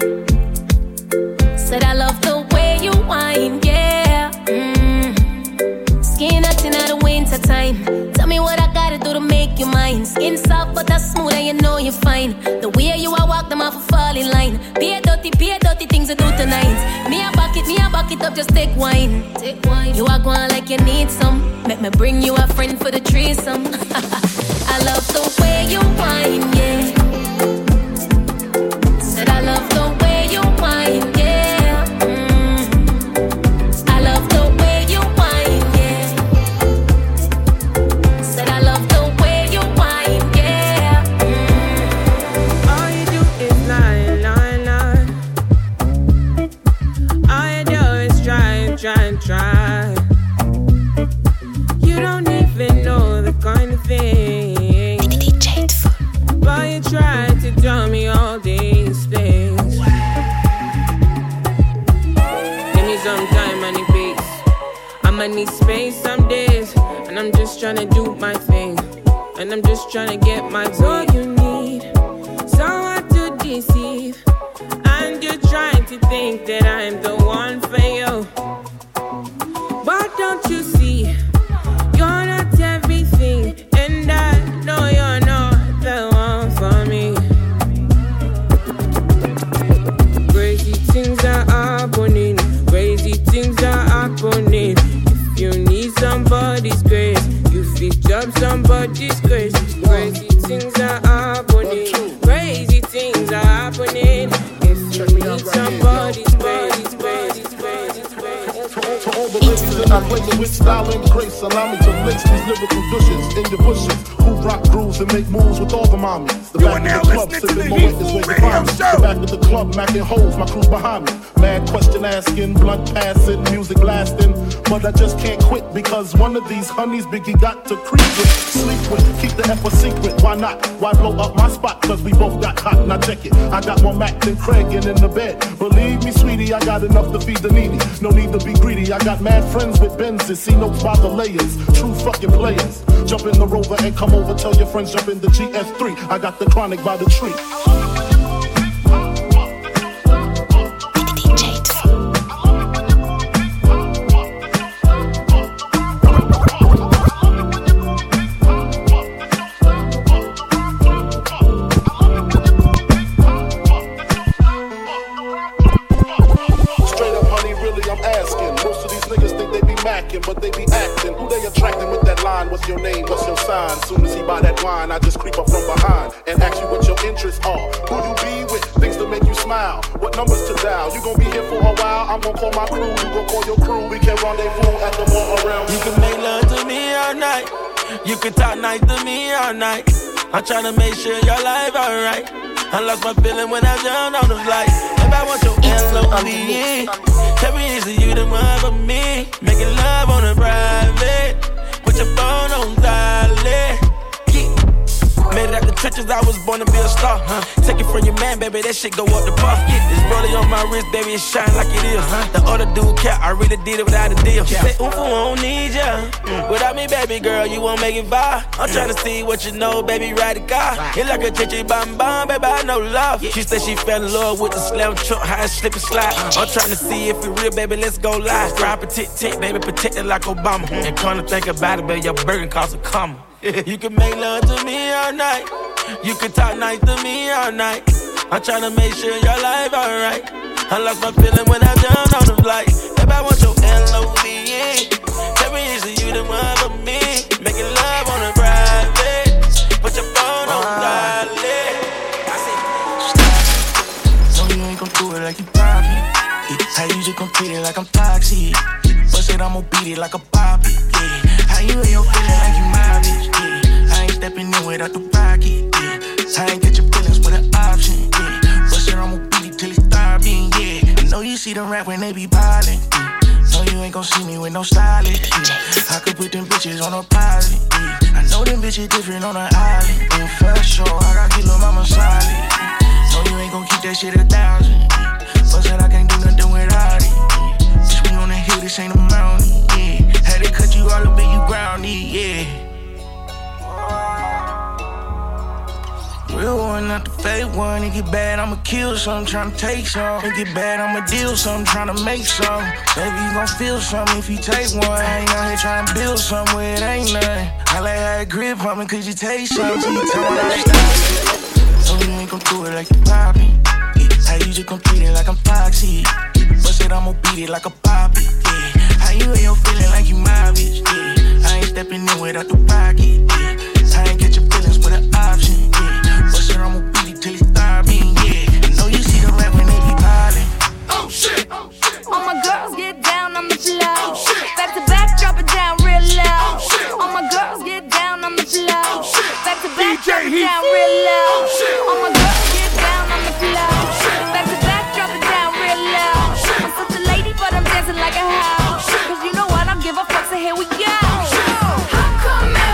Said I love the way you whine, yeah. Mm. Skin acting out of winter time. Tell me what I gotta do to make you mine. Skin soft but that's smooth and you know you're fine. The way you I walk them off a fall in line. Be a dirty, be a dirty things I do tonight. Me a bucket, me a bucket up, just take wine. Take wine. You are going like you need some. Make me bring you a friend for the threesome. I love the way you whine, yeah. Said I love the way you whine, yeah. Mm. I love the way you whine, yeah. Said I love the way you whine, yeah. Mm. All you do is lie, lie, lie. All you do is try, try, try. You don't even know the kind of thing. But you try to tell me all these things. Give me some time, I need peace. I'ma need space some days. And I'm just trying to do my thing. And I'm just trying to get my way. You need someone to deceive. And you're trying to think that I'm the one for you. But don't you see, you're not everything. And I know you're not the one for me. Crazy things are happening. Crazy things are happening. If you need somebody's grace, you fix up somebody's grace. Crazy things are happening. Crazy things are happening. If you need somebody's grace, grace, grace, grace. It's in the place with style and grace. Allow me to lace these lyrical douches in your bushes. Who rock grooves and make moves with all the mommies. The back of the club, sipping more is where you find me. The back of the club, macking holes, my crew behind me. Mad question asking, blunt passing, music blasting. But I just can't quit because one of these honeys Biggie got to creep with, sleep with, keep the F a secret. Why not? Why blow up my spot? Cause we both got hot. Now check it. I got more Mac than Craig and in the bed. Believe me, sweetie, I got enough to feed the needy. No need to be greedy. I got mad friends with Benzes. See notes by the layers. True fucking players. Jump in the Rover and come over. Tell your friends jump in the G S three. I got the chronic by the tree. But they be acting, who they attracting with that line? What's your name, what's your sign? Soon as he buy that wine, I just creep up from behind and ask you what your interests are. Who you be with, things to make you smile. What numbers to dial, you gon' be here for a while. I'm gon' call my crew, you gon' call your crew. We can rendezvous at the bar around. You can make love to me all night. You can talk nice to me all night. I'm tryna make sure your life alright. I lost my feeling when I jumped on the flight. If I want your L O V E, tell me is you the one for me. Making love on a private, put your phone on silent. Made it out the trenches, I was born to be a star. Huh? Take it from your man, baby, that shit go up the bar. This rollie on my wrist, baby, it shine like it is. Uh-huh. The other dude cap, I really did it without a deal. She said, ooh, I don't need ya. Mm. Without me, baby girl, you won't make it vibe. I'm tryna see what you know, baby, ride the car. It like a chichi bam bam, baby, I know love. She said she fell in love with the slam truck, high slip and slide. I'm tryna see if it real, baby, let's go live. Drive a tit tit, baby, protected like Obama. And come to think about it, baby, your burger costs a comma. You can make love to me all night. You can talk nice to me all night. I'm tryna make sure your life alright. I lost my feeling when I jumped on the flight. If I want your L O V E, tell me is you the one for me. Making love on a private, put your phone on silent. I said, no, you ain't gon' do it like you probably. How you just gon' treat it like I'm toxic? Bust it, I'ma beat it like a poppy. Yeah. How you ain't your feeling like you my bitch? Yeah. I ain't stepping in without the pocket. Yeah. I ain't get your feelings with an option. Yeah. Bust it, I'ma beat it till it start being. Yeah. I know you see them rap when they be ballin'. Yeah. No, you ain't gon' see me with no stylist. Yeah. I could put them bitches on a pilot. Yeah. I know them bitches different on an island. And for sure, I got get little mama solid. Yeah. No, you ain't gon' keep that shit a thousand. Yeah. Bust it, I can't do nothing without it. Yeah. Bitch, we on the hill, this ain't a mountain. Yeah. Had to cut you all up and you grounded, yeah. Real one, not the fake one. It get bad, I'ma kill some, tryna take some. It get bad, I'ma deal some, tryna make some. Baby, you gon' feel something if you take one. I ain't out here tryna build something where it ain't nothing. I like how it grip on me, cause you taste something. So you tell me how to stop. No, you ain't gon' do it like you poppin'. Yeah. How you just gon' treat it like I'm toxic. Bust it, I'ma beat it like a poppy. Yeah. How you ain't your feeling like you my bitch. Yeah. I ain't stepping in without the pocket. Yeah. I ain't get your feelings with an option. Yeah. Bust it, I'ma beat it till it start being. Yeah. I know you see them rap when they be piling. Oh shit! Oh shit! All my girls get down on the floor. Oh shit! Back to back, drop it down real low. Oh shit! All my girls get down on the floor. Oh shit! Back to back, drop it down real low. Oh shit! All my girls get down on the floor. Oh shit! Back to back, drop it down real low. Oh shit! I'm such a lady, but I'm dancing like a house. Cause you know what, I don't give a fuck, so here we go. How come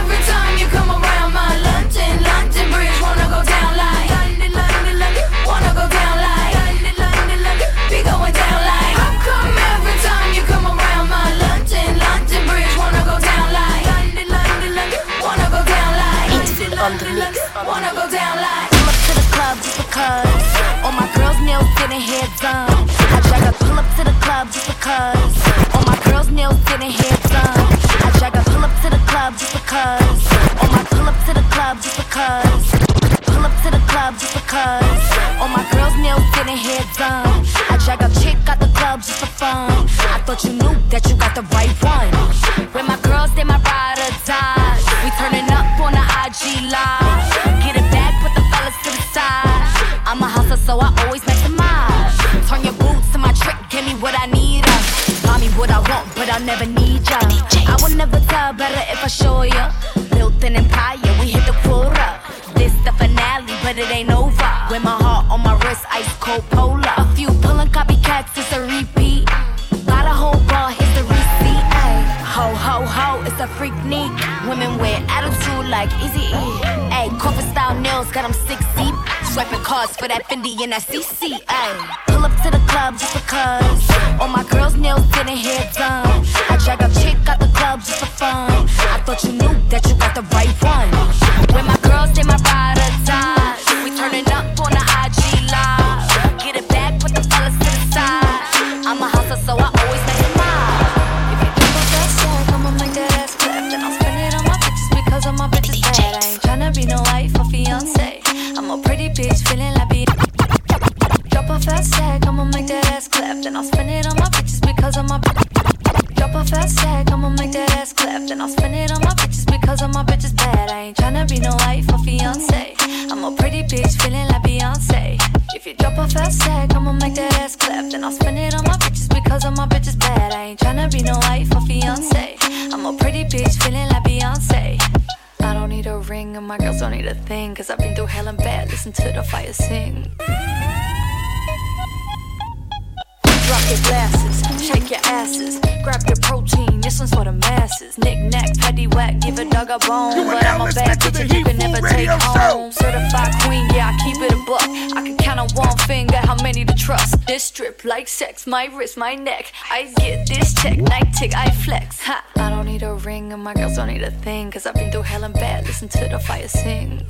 ya. I will never tell better if I show ya. Built an empire, we hit the quota. This the finale, but it ain't over. With my heart on my wrist, ice cold polar. A few pulling copycats, it's a repeat. Got a whole bar, here's the receipt. Ay. Ho, ho, ho, it's a freak neat. Women with attitude like Easy E. Ay, corporate style nails, got them six deep. Swiping cards for that Fendi and that C C. Ay. Pull up to the club just because all my girls' nails didn't hair done. I drag a chick out the club just for fun. I thought you knew that you got the right one. When my girls, they my ride or die. We turning up on the I G live. Get it back, put the fellas to the side. I'm a hustler, so I always make it mine. If you think about that song, I'ma make that ass clap. Then I'll spend it on my bitches because of my bitches bad. I ain't tryna be no wife or fiance. I'm a pretty bitch, feeling like be. Drop a fast sack, I'ma make that ass clap. Then I'll spend it on my bitches because of my. Drop a fast sack, I'ma make that ass clap. Then I'll spend it on my bitches because of my bitches bad. I ain't tryna be no wife or fiance. I'm a pretty bitch, feeling like Beyonce. If you drop a fast sack, I'ma make that ass clap. Then I'll spend it on my bitches because of my bitches bad. I ain't tryna be no wife or fiance. I'm a pretty bitch, feeling like Beyonce. I don't need a ring and my girls don't need a thing. Cause I've been through hell and bad, listen to the fire sing. Drop your glasses, shake your asses, grab your protein, this one's for the masses. Knick-knack, paddy-whack, give a dog a bone. But I'm a bad bitch that you can never take home. Certified queen, yeah, I keep it a buck. I can count on one finger how many to trust. This strip like sex, my wrist, my neck. I get this check, night tick, I flex. Ha! I don't need a ring and my girls don't need a thing. Cause I've been through hell and bad, listen to the fire sing.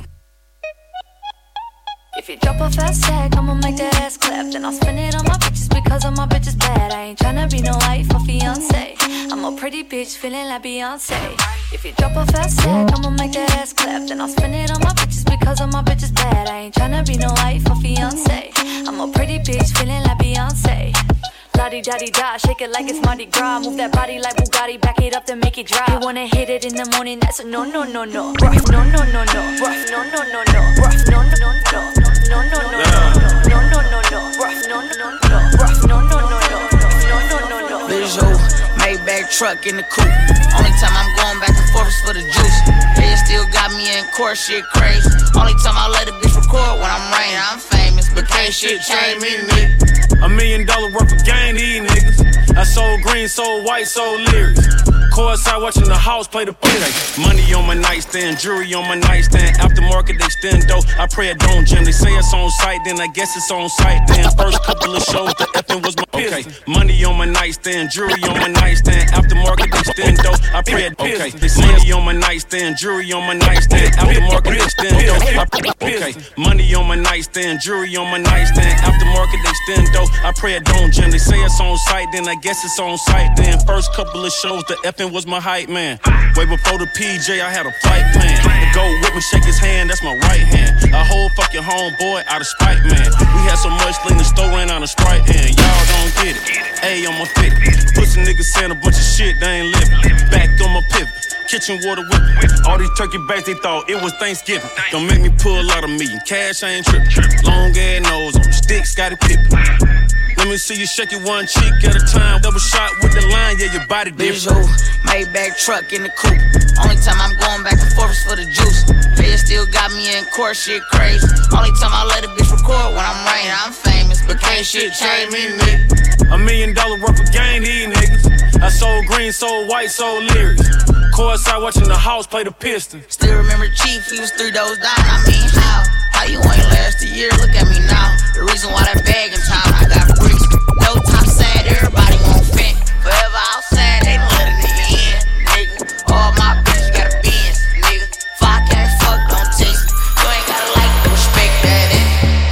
If you drop a fast sack, I'ma make that ass clap. Then I'll spend it on my bitches because of my bitches bad. I ain't tryna be no wife or fiance. I'm a pretty bitch feeling like Beyonce. If you drop a fast sack, I'ma make that ass clap. Then I'll spend it on my bitches because of my bitches bad. I ain't tryna be no wife or fiance. I'm a pretty bitch feeling like Beyonce. La-di-da-di-da, shake it like it's Mardi Gras. Move that body like Bugatti, back it up then make it drop. You wanna hit it in the morning, that's a no-no-no-no. Rough, no-no-no-no. Rough, no-no-no-no. Rough, no-no-no-no. No, no, no, no, no, no, no, no, rough, no, no, no, no, rough, no, no, no, no, no, no, no, no. Visual, Maybach truck in the coupe. Only time I'm going back and forth is for the juice. They still got me in court, shit crazy. Only time I let a bitch record when I'm raining. I'm famous, but can't shit change me, nigga. A million dollar worth of game, these niggas. I sold green, sold white, sold lyrics. Courtside watching the house play the pitch. Money on my nightstand, jewelry on my nightstand. Aftermarket extendo, I pray it don't jam. They say it's on site, then I guess it's on site. Then first couple of shows, the effing was my okay. Money on my nightstand, jewelry on my nightstand. Aftermarket extendo, I pray it okay. They say money on my nightstand, jewelry on my nightstand. Aftermarket extendo, okay. Money on my nightstand, jewelry on my nightstand. Aftermarket extendo, I pray it don't jam. They say it's on site, then I guess it's on site. Then first couple of shows, the effing was my hype man. Way before the P J, I had a flight plan. The go with me, shake his hand, that's my right hand. A whole fucking homeboy out of spite, man. We had so much lean, the store ran out of Sprite, and y'all don't get it. A on my fit. Pussy niggas saying a bunch of shit, they ain't living. Back on my pivot. Kitchen water whipping. All these turkey bags, they thought it was Thanksgiving. Don't make me pull out of me. Cash, I ain't trippin'. Long ass nose on sticks, got it pippin'. Let me see you shake it one cheek at a time. Double shot with the line, yeah, your body Visual, Maybach truck in the coupe. Only time I'm going back and forth is for the juice. They still got me in court, shit crazy. Only time I let a bitch record when I'm raining. I'm famous, but can't shit change me, nigga. A million dollar worth of game, these niggas. I sold green, sold white, sold lyrics. Courtside watching the house play the Pistons. Still remember Chief, he was three doors down. I mean, how? How you ain't last a year? Look at me now. The reason why that bag in town, I got bricks. No top sad, everybody won't fit. Forever outside, they don't let a nigga in, nigga. All my bitches got a Benz, nigga. If I can't fuck, don't text me. You ain't gotta like to respect that, eh?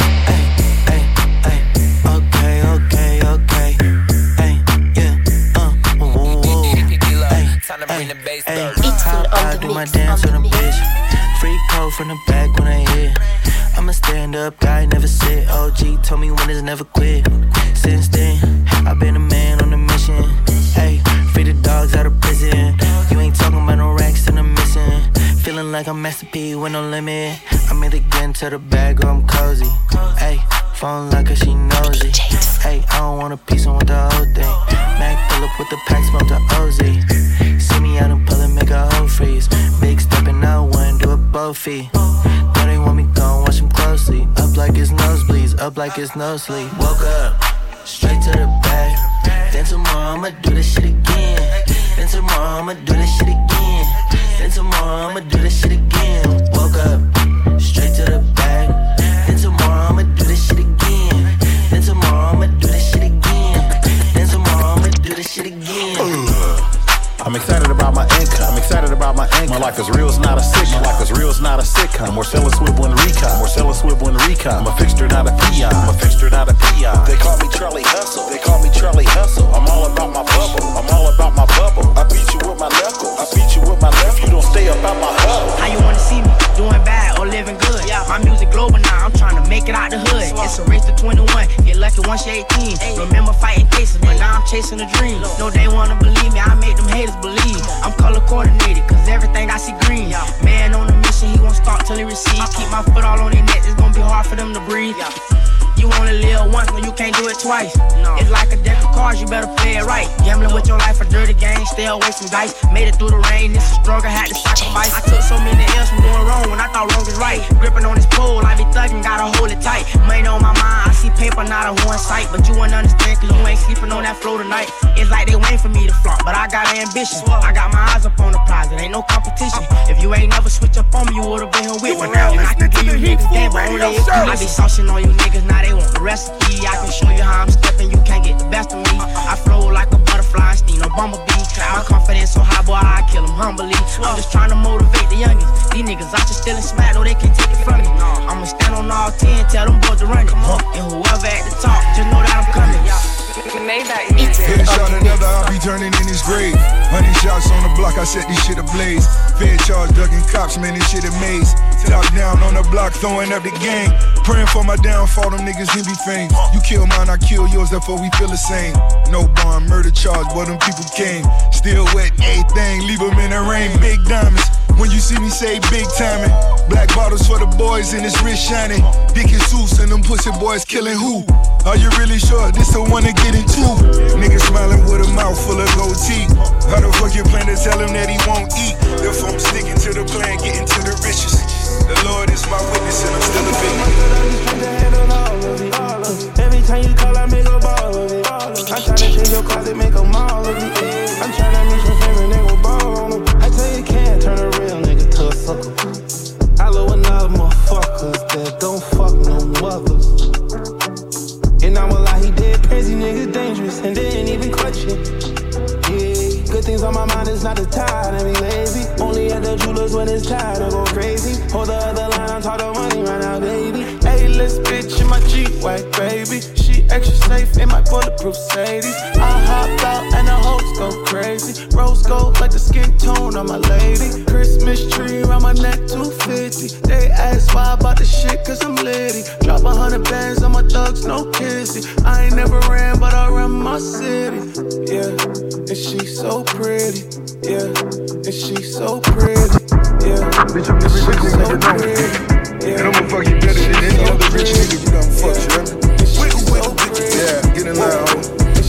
Ay, ay, ay, okay, okay, okay. Ay, yeah, uh, whoa, whoa. Ay, ay, ay, I do my dance with a bitch. Free code from the back when I hit. I'm a stand-up guy, never sit. O G told me winners never quit. Since then, I've been a man on a mission. Hey, free the dogs out of prison. You ain't talking about no racks and I'm missing. Feeling like I'm Master P with no limit. I'm either getting to the bag or I'm cozy. Hey, phone like her, she knows it. Hey, I don't want a piece, I want the whole thing. Mac pull up with the pack, smoke the O Z. See me out and pull and make a whole freeze. Big stepping out, one, do a both feet. Know they want me gone, watch them closely. Up like it's nosebleeds, up like it's no sleep. Woke up, straight to the bag. Then tomorrow I'ma do this shit again. Then tomorrow I'ma do this shit again. Then tomorrow I'ma do this shit again. Woke up, straight to the bag. Then tomorrow I'ma do this shit again. Then tomorrow I'ma do this shit again. Then tomorrow I'ma do this shit again. I'm excited about my income. I'm excited about my income. My life is real, it's not a sitcom. My life is real, it's not a sitcom. We're selling swivel and recon. We're selling swivel and recon. I'm a fixture, not a peon. I'm a fixture, not a peon. They call me Charlie Hustle. They call me Charlie Hustle. I'm all about my bubble. I'm all about my bubble. I beat you with my knuckles. I beat you with my left. You don't stay about my hub. How you wanna see me? Doing bad or living good? Yeah. My music global now. I'm trying to make it out the hood. It's a race to twenty-one. Get lucky once you're eighteen. Remember fighting cases, but now I'm chasing a dream. No, they wanna believe me. I make them haters believe. I'm color coordinated, cause everything I see green. Man on a mission, he won't stop till he receives. Keep my foot all on their neck, it's gonna be hard for them to breathe. You only live once, when you can't do it twice. It's like a deck of cards, you better play it right. Gambling with your life, a dirty game, stay away from dice. Made it through the rain, this is struggle, had to sacrifice. I took so many L's from doing wrong when I thought wrong is right. Gripping on this pole, I be thugging, gotta hold it tight. Money on my mind, I see paper, not a one sight. But you wouldn't understand, cause you ain't sleeping on that floor tonight. It's like they waiting for me to flaunt, but I got ambition. I got my eyes up on the prize, it ain't no competition. If you ain't never switch up on me, you would've been here with me. And I can give you niggas game, but only if you I be saucing on you niggas, now they want the recipe. I can show you how I'm stepping, you can't get the best of me. I flow like a butterfly, sting no bumblebee. My confidence so high, boy, I kill them humbly. I'm just trying to motivate the youngins. These niggas out just stealing smack, no, they can't take it from me. I'ma stand on all ten, tell them boys to run it. And whoever at the top, just know that I'm coming. Headshot another, I'll be turning in his grave. Honey shots on the block, I set this shit ablaze. Fed charge, ducking cops, man, this shit amaze. Top down on the block, throwing up the gang. Praying for my downfall, them niggas in be fame. You kill mine, I kill yours, therefore we feel the same. No bond, murder charge, but them people came. Still wet, everything, leave them in the rain. Big diamonds, when you see me say big timing. Black bottles for the boys and it's wrist shining. Dick and Seuss and them pussy boys killing who? Are you really sure this the one to get into? Niggas smiling with a mouth full of gold teeth. How the fuck you plan to tell him that he won't eat? Therefore I'm sticking to the plan, getting to the riches. The Lord is my witness and I'm still a big. Every time you call, I make a ball of it. I'm tryna change your closet, make a mall of it. I'm tryna meet your favorite nigga, ball on them. I tell you, can't turn a real nigga to a sucker. I love another motherfuckers that don't fuck no mothers. And I'm a lie, he dead crazy, niggas dangerous, and they ain't even clutching. Yeah, good things on my mind, it's not the time to be lazy. Only at the jewelers when it's time to go crazy. Hold the other line, I'm talking money right now, baby. A-list bitch in my G-Wagon, baby. She extra safe in my bulletproof Sadie. I hop out and the hoes go crazy. Rose gold like the skin tone on my lady. Christmas tree around my neck, two fifty. They ask why I bought the shit, cause I'm litty. Drop a hundred bands on my thugs, no kissy. I ain't never ran, but I run my city. Yeah, and she so pretty. Yeah, and she so pretty. Yeah, bitch, I'm every rich nigga you know. Yeah, and I'ma fuck you better than any other rich nigga you done fuck, you hear me? Wiggle, wiggle, wiggle. Yeah, get in line, ho.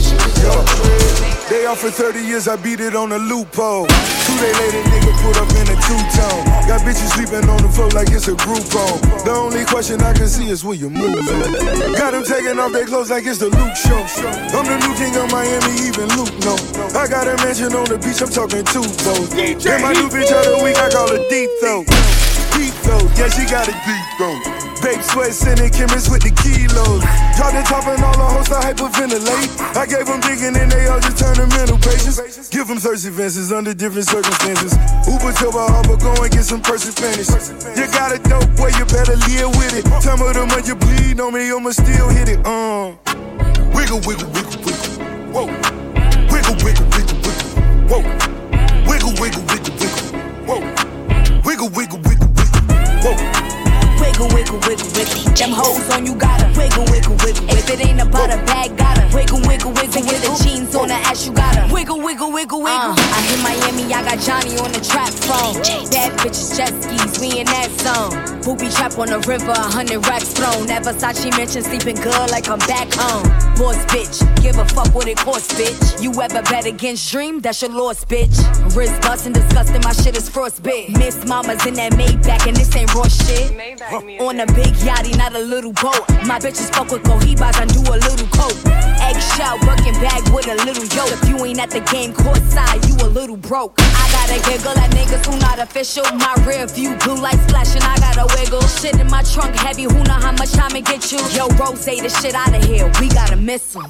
They offered thirty years, I beat it on a loophole. Two day later, nigga put up in a two-tone. Got bitches sleeping on the floor like it's a group home. The only question I can see is will you move on? Got them taking off their clothes like it's the Luke show. I'm the new king of Miami, even Luke no. I got a mansion on the beach, I'm talking two foes. And my new bitch of the week, I call her deep throat. Deep throat, yeah, she got a deep throat. Babe sweat, sending chemists with the kilos. Drop the top and all the hoes to hyperventilate. I gave them digging and they all just turned to mental patients. Give them thirsty fences under different circumstances. Uber to my harbor, go and get some person finish. You got a dope boy, you better live with it. Time of the month you bleed on me, I'ma still hit it. Uh. Wiggle, wiggle, wiggle, wiggle. Whoa. Wiggle, wiggle, wiggle, wiggle. Whoa. Wiggle, wiggle, wiggle, wiggle. Whoa. Wiggle, wiggle, wiggle, wiggle. Whoa. Wiggle, wiggle, wiggle, wiggle. Them hoes on you gotta wiggle, wiggle, wiggle. If it ain't about a bag, gotta wiggle, wiggle, wiggle with it. the jeans on the ass, you gotta wiggle, wiggle, wiggle, wiggle. Uh, I hit Miami, I got Johnny on the trap phone. Bad bitches, jet skis, we in that zone. Booby trap on the river, a hundred racks thrown. That Versace mention sleeping good like I'm back home. Boss bitch, give a fuck what it costs, bitch. You ever bet against Dream? That's your loss, bitch. Wrist bustin', disgusting, my shit is frostbit. Miss Mama's in that Maybach, and this ain't raw shit. On a big yachty, not a little boat. My bitches fuck with Cohibas, I do a little coke. Eggshell, working bag with a little yoke. If you ain't at the game court side, you a little broke. I gotta giggle at niggas who not official. My rear view, blue lights flashing, I gotta wiggle. Shit in my trunk heavy, who know how much time it get you? Yo, Rose, the shit out of here, we gotta miss him.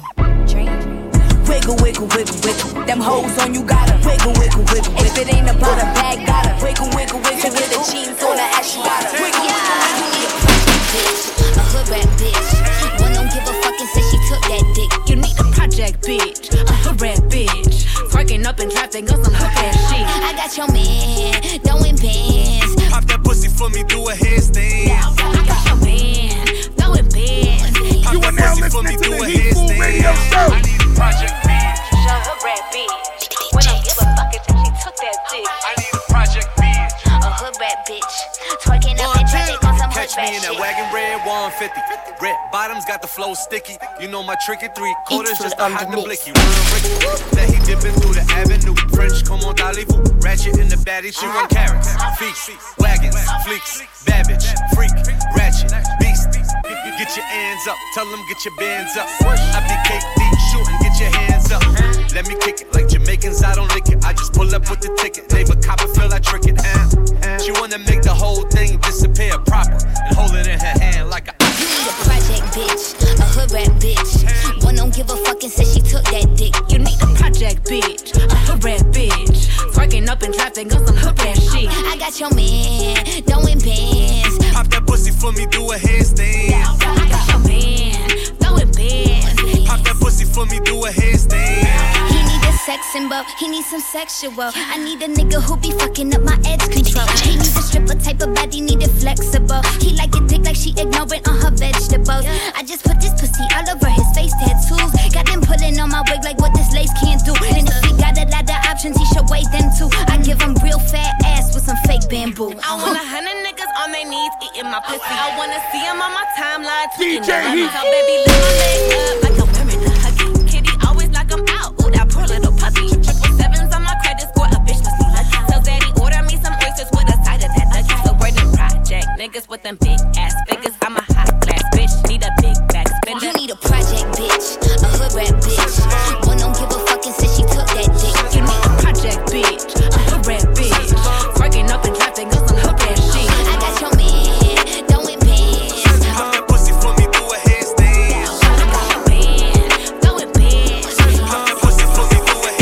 Wiggle, wiggle, wiggle, wiggle. Them hoes on you gotta wiggle, wiggle, wiggle. If it ain't about a bag, gotta wiggle, wiggle, wiggle. With the jeans on the ass, you gotta wiggle. Yeah, you need a project bitch, a hood rat bitch. One don't give a fuck and say she took that dick. You need a project bitch, a hood rat bitch. Twerking up in traffic on some hook ass shit. I got your man, throwing bands. Pop that pussy for me, do a headstand. I got your man, throwing bands. Pop that pussy for me, do a headstand. I need a project bitch, a hood rat bitch. When I give a fuck and say she took that dick. I need a project bitch, a hood rat bitch. Twerking up in traffic on some hood rat shit. Catch me in that wagon red one fifty. Red bottoms got the flow sticky. You know my trick at three quarters just to hide the blicky. Real Ricky, that he dipping through the avenue. French, come on, Dalibu. Ratchet in the baddie, she run carrots. Feast, wagons, fleeks, bad bitch, freak, ratchet, beast. Get your hands up, tell them get your bands up. I be cake deep, shooting, get your hands up. Let me kick it like Jamaicans, I don't lick it. I just pull up with the ticket. David Copperfield, I trick it. Uh, she wanna make the whole thing disappear proper and hold it in her hand like a. You need a project bitch, a hood rat bitch. One don't give a fuck and say she took that dick. You need a project bitch, a hood rat bitch. Twerking up in traffic on some hook ass shit. I got your man, throwing bands. Pop that pussy for me, do a headstand. I got your man, throwing bands. Pop that pussy for me, do a headstand. He need a sex symbol, he need some sexual. I need a nigga who be fucking up my edge control. He need a stripper type of body, need it flexible. He like a dick like she ignorant on her vegetables. I just put this pussy all over his face tattoos. Got them pulling on my wig like what this lace can't do. And if he got a lot of options, he should weigh them too. I give him real fat ass with some fake bamboo. I want a hundred niggas on their knees eating my pussy. I wanna see him on my timeline tweaking. D J Heat. So baby, lift my legs up like I'm wearing a huggy. Kitty always like I'm out. Ooh, that poor little puppy. Triple sevens on my credit score. A bitch must be lucky. Tell daddy order me some oysters with a side of that ducky. So we're the project niggas with them big ass figures. I'm a hot glass bitch. Need a big back spender. You need a project bitch, a hood rat bitch. One don't give a fuck and say she took that dick. You need a project bitch, a hood rat bitch. Twerking up in traffic on some hook ass shit. I got your man, throwing bands. Pop that pussy for me, do a headstand. I got your man, throwing bands. Pop that pussy for me, do a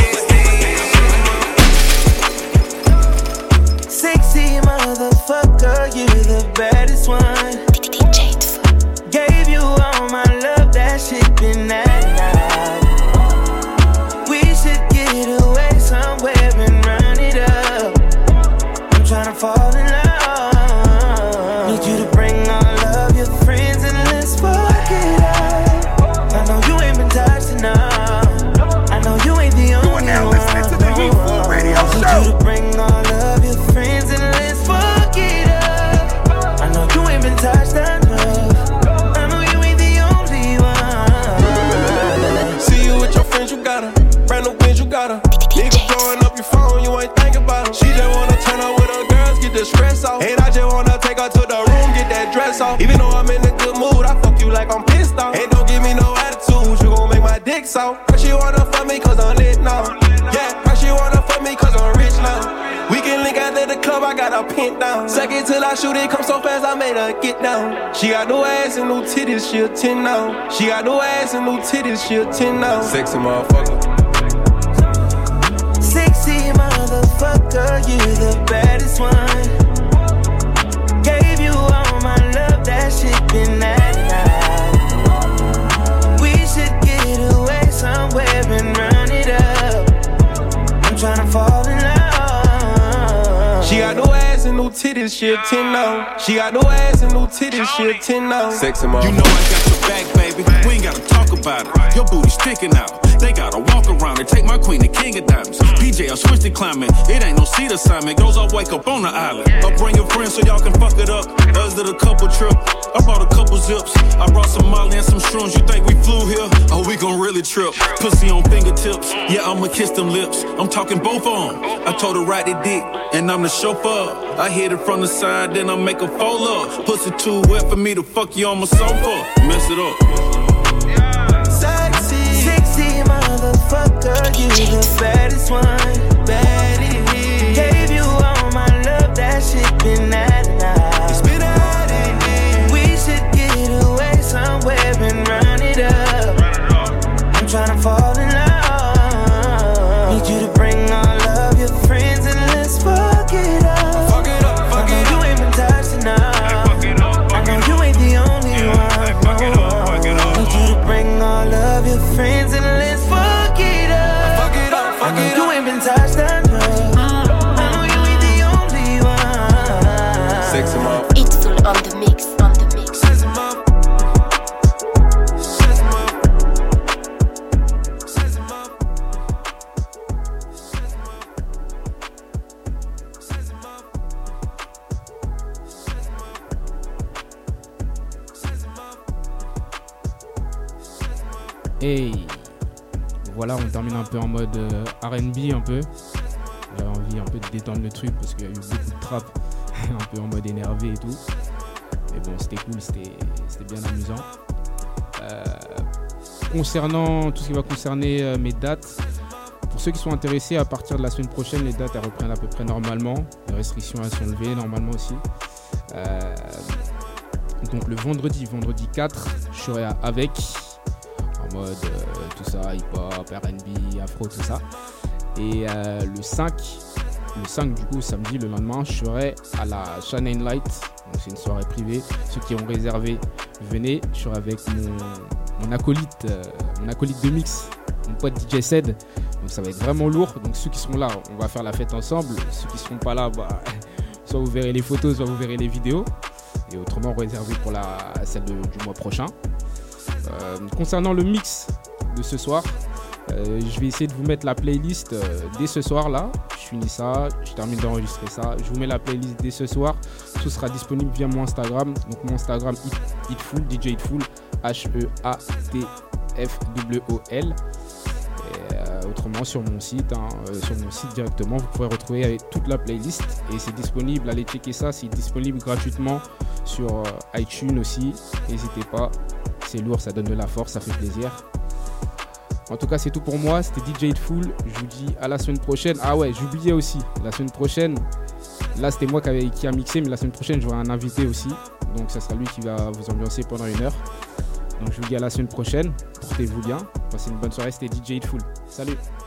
headstand. Sexy motherfucker, you the baddest one. Gave you all my love, that shit been that night. We should get away somewhere and run it up. I'm tryna fall in love. Need you to bring all of your friends and let's fuck it up. I know you ain't been touched enough. I know you ain't the only one. You are now listening to the Heat Food Radio Show. Need you to bring all of your friends and let's fuck it up. I know you ain't been touched enough. You got her, brand new bitch, you got her. Nigga blowing up your phone, you ain't thinking about her. She just wanna turn up with her girls, get the stress off. And I just wanna take her to the room, get that dress off. Even though I'm in a good mood, I fuck you like I'm pissed off. And don't give me no attitude, you gon' make my dick soft. Her she wanna fuck me cause I'm lit now. Yeah, her she wanna fuck me cause I'm rich now. We can link out at the club, I got her pinned down. Second till I shoot it, come so fast, I made her get down. She got no ass and no titties, she a ten now. She got no ass and no titties, she a ten now. Sexy motherfucker. Sexy motherfucker, you the baddest one. Gave you all my love, that shit been that night. We should get away somewhere and run it up. I'm tryna fall in love. She got no ass and no titties, she a ten now. She got no ass and no titties, she a ten now. Sexy motherfucker. You know I got your back, baby. We ain't gotta talk about it. Your booty sticking out. They gotta walk around and take my queen, the king of diamonds. P J, I switched to climbing. It ain't no seat assignment. Goes, I wake up on the island. I'll bring your friends so y'all can fuck it up. Us did a couple trip. I brought a couple zips. I brought some Molly and some shrooms. You think we flew here? Oh, we gon' really trip. Pussy on fingertips. Yeah, I'ma kiss them lips. I'm talking both on. I told her ride the dick, and I'm the chauffeur. I hit it from the side, then I make a fold up. Pussy too wet for me to fuck you on my sofa. Mess it up. Sexy, sexy motherfucker, you the baddest one, baddest. Gave you all my love, that shit been at night. It's been at it. We should get away somewhere and run it up. I'm tryna fall in love. Need you to bring all of your friends and let's fuck it up. Fuck it up, fuck it up. You ain't been touched enough. I know you ain't the only one. No. Need you to bring all of your friends and let's fuck it up. Fuck it up, fuck it up. You ain't been touched enough. It's full on the mix, on the mix. Hey, voilà, on termine un peu en mode euh, R and B un peu. J'avais envie un peu de détendre le truc parce qu'il y a eu beaucoup de trap. Un peu en mode énervé et tout, mais bon, c'était cool, c'était, c'était bien amusant. Euh, concernant tout ce qui va concerner euh, mes dates, pour ceux qui sont intéressés, à partir de la semaine prochaine, les dates elles reprennent à peu près normalement. Les restrictions elles sont levées normalement aussi. Euh, donc le vendredi, vendredi quatre, je serai à Avec, en mode euh, tout ça, hip-hop, R and B, afro, tout ça. Et euh, le cinq. Le cinq du coup, samedi, le lendemain, je serai à la Shine Light. Donc c'est une soirée privée. Ceux qui ont réservé, venez. Je serai avec mon, mon acolyte, euh, mon acolyte de mix, mon pote D J Sed. Donc ça va être vraiment lourd. Donc ceux qui seront là, on va faire la fête ensemble. Ceux qui seront pas là, bah, soit vous verrez les photos, soit vous verrez les vidéos. Et autrement, réservé pour la celle de, du mois prochain. Euh, concernant le mix de ce soir, Euh, je vais essayer de vous mettre la playlist euh, dès ce soir là. Je finis ça, je termine d'enregistrer ça. Je vous mets la playlist dès ce soir. Tout sera disponible via mon Instagram. Donc mon Instagram Hitful, D J Hitful, H E A T F W O L. Et, euh, autrement sur mon site, hein, euh, sur mon site directement, vous pourrez retrouver avec toute la playlist. Et c'est disponible, allez checker ça, c'est disponible gratuitement sur euh, iTunes aussi. N'hésitez pas, c'est lourd, ça donne de la force, ça fait plaisir. En tout cas, c'est tout pour moi. C'était D J Hitful. Je vous dis à la semaine prochaine. Ah ouais, j'oubliais aussi. La semaine prochaine, là, c'était moi qui, avait, qui a mixé, mais la semaine prochaine, j'aurai un invité aussi. Donc, ça sera lui qui va vous ambiancer pendant une heure. Donc, je vous dis à la semaine prochaine. Portez-vous bien. Passez une bonne soirée. C'était D J Hitful. Salut.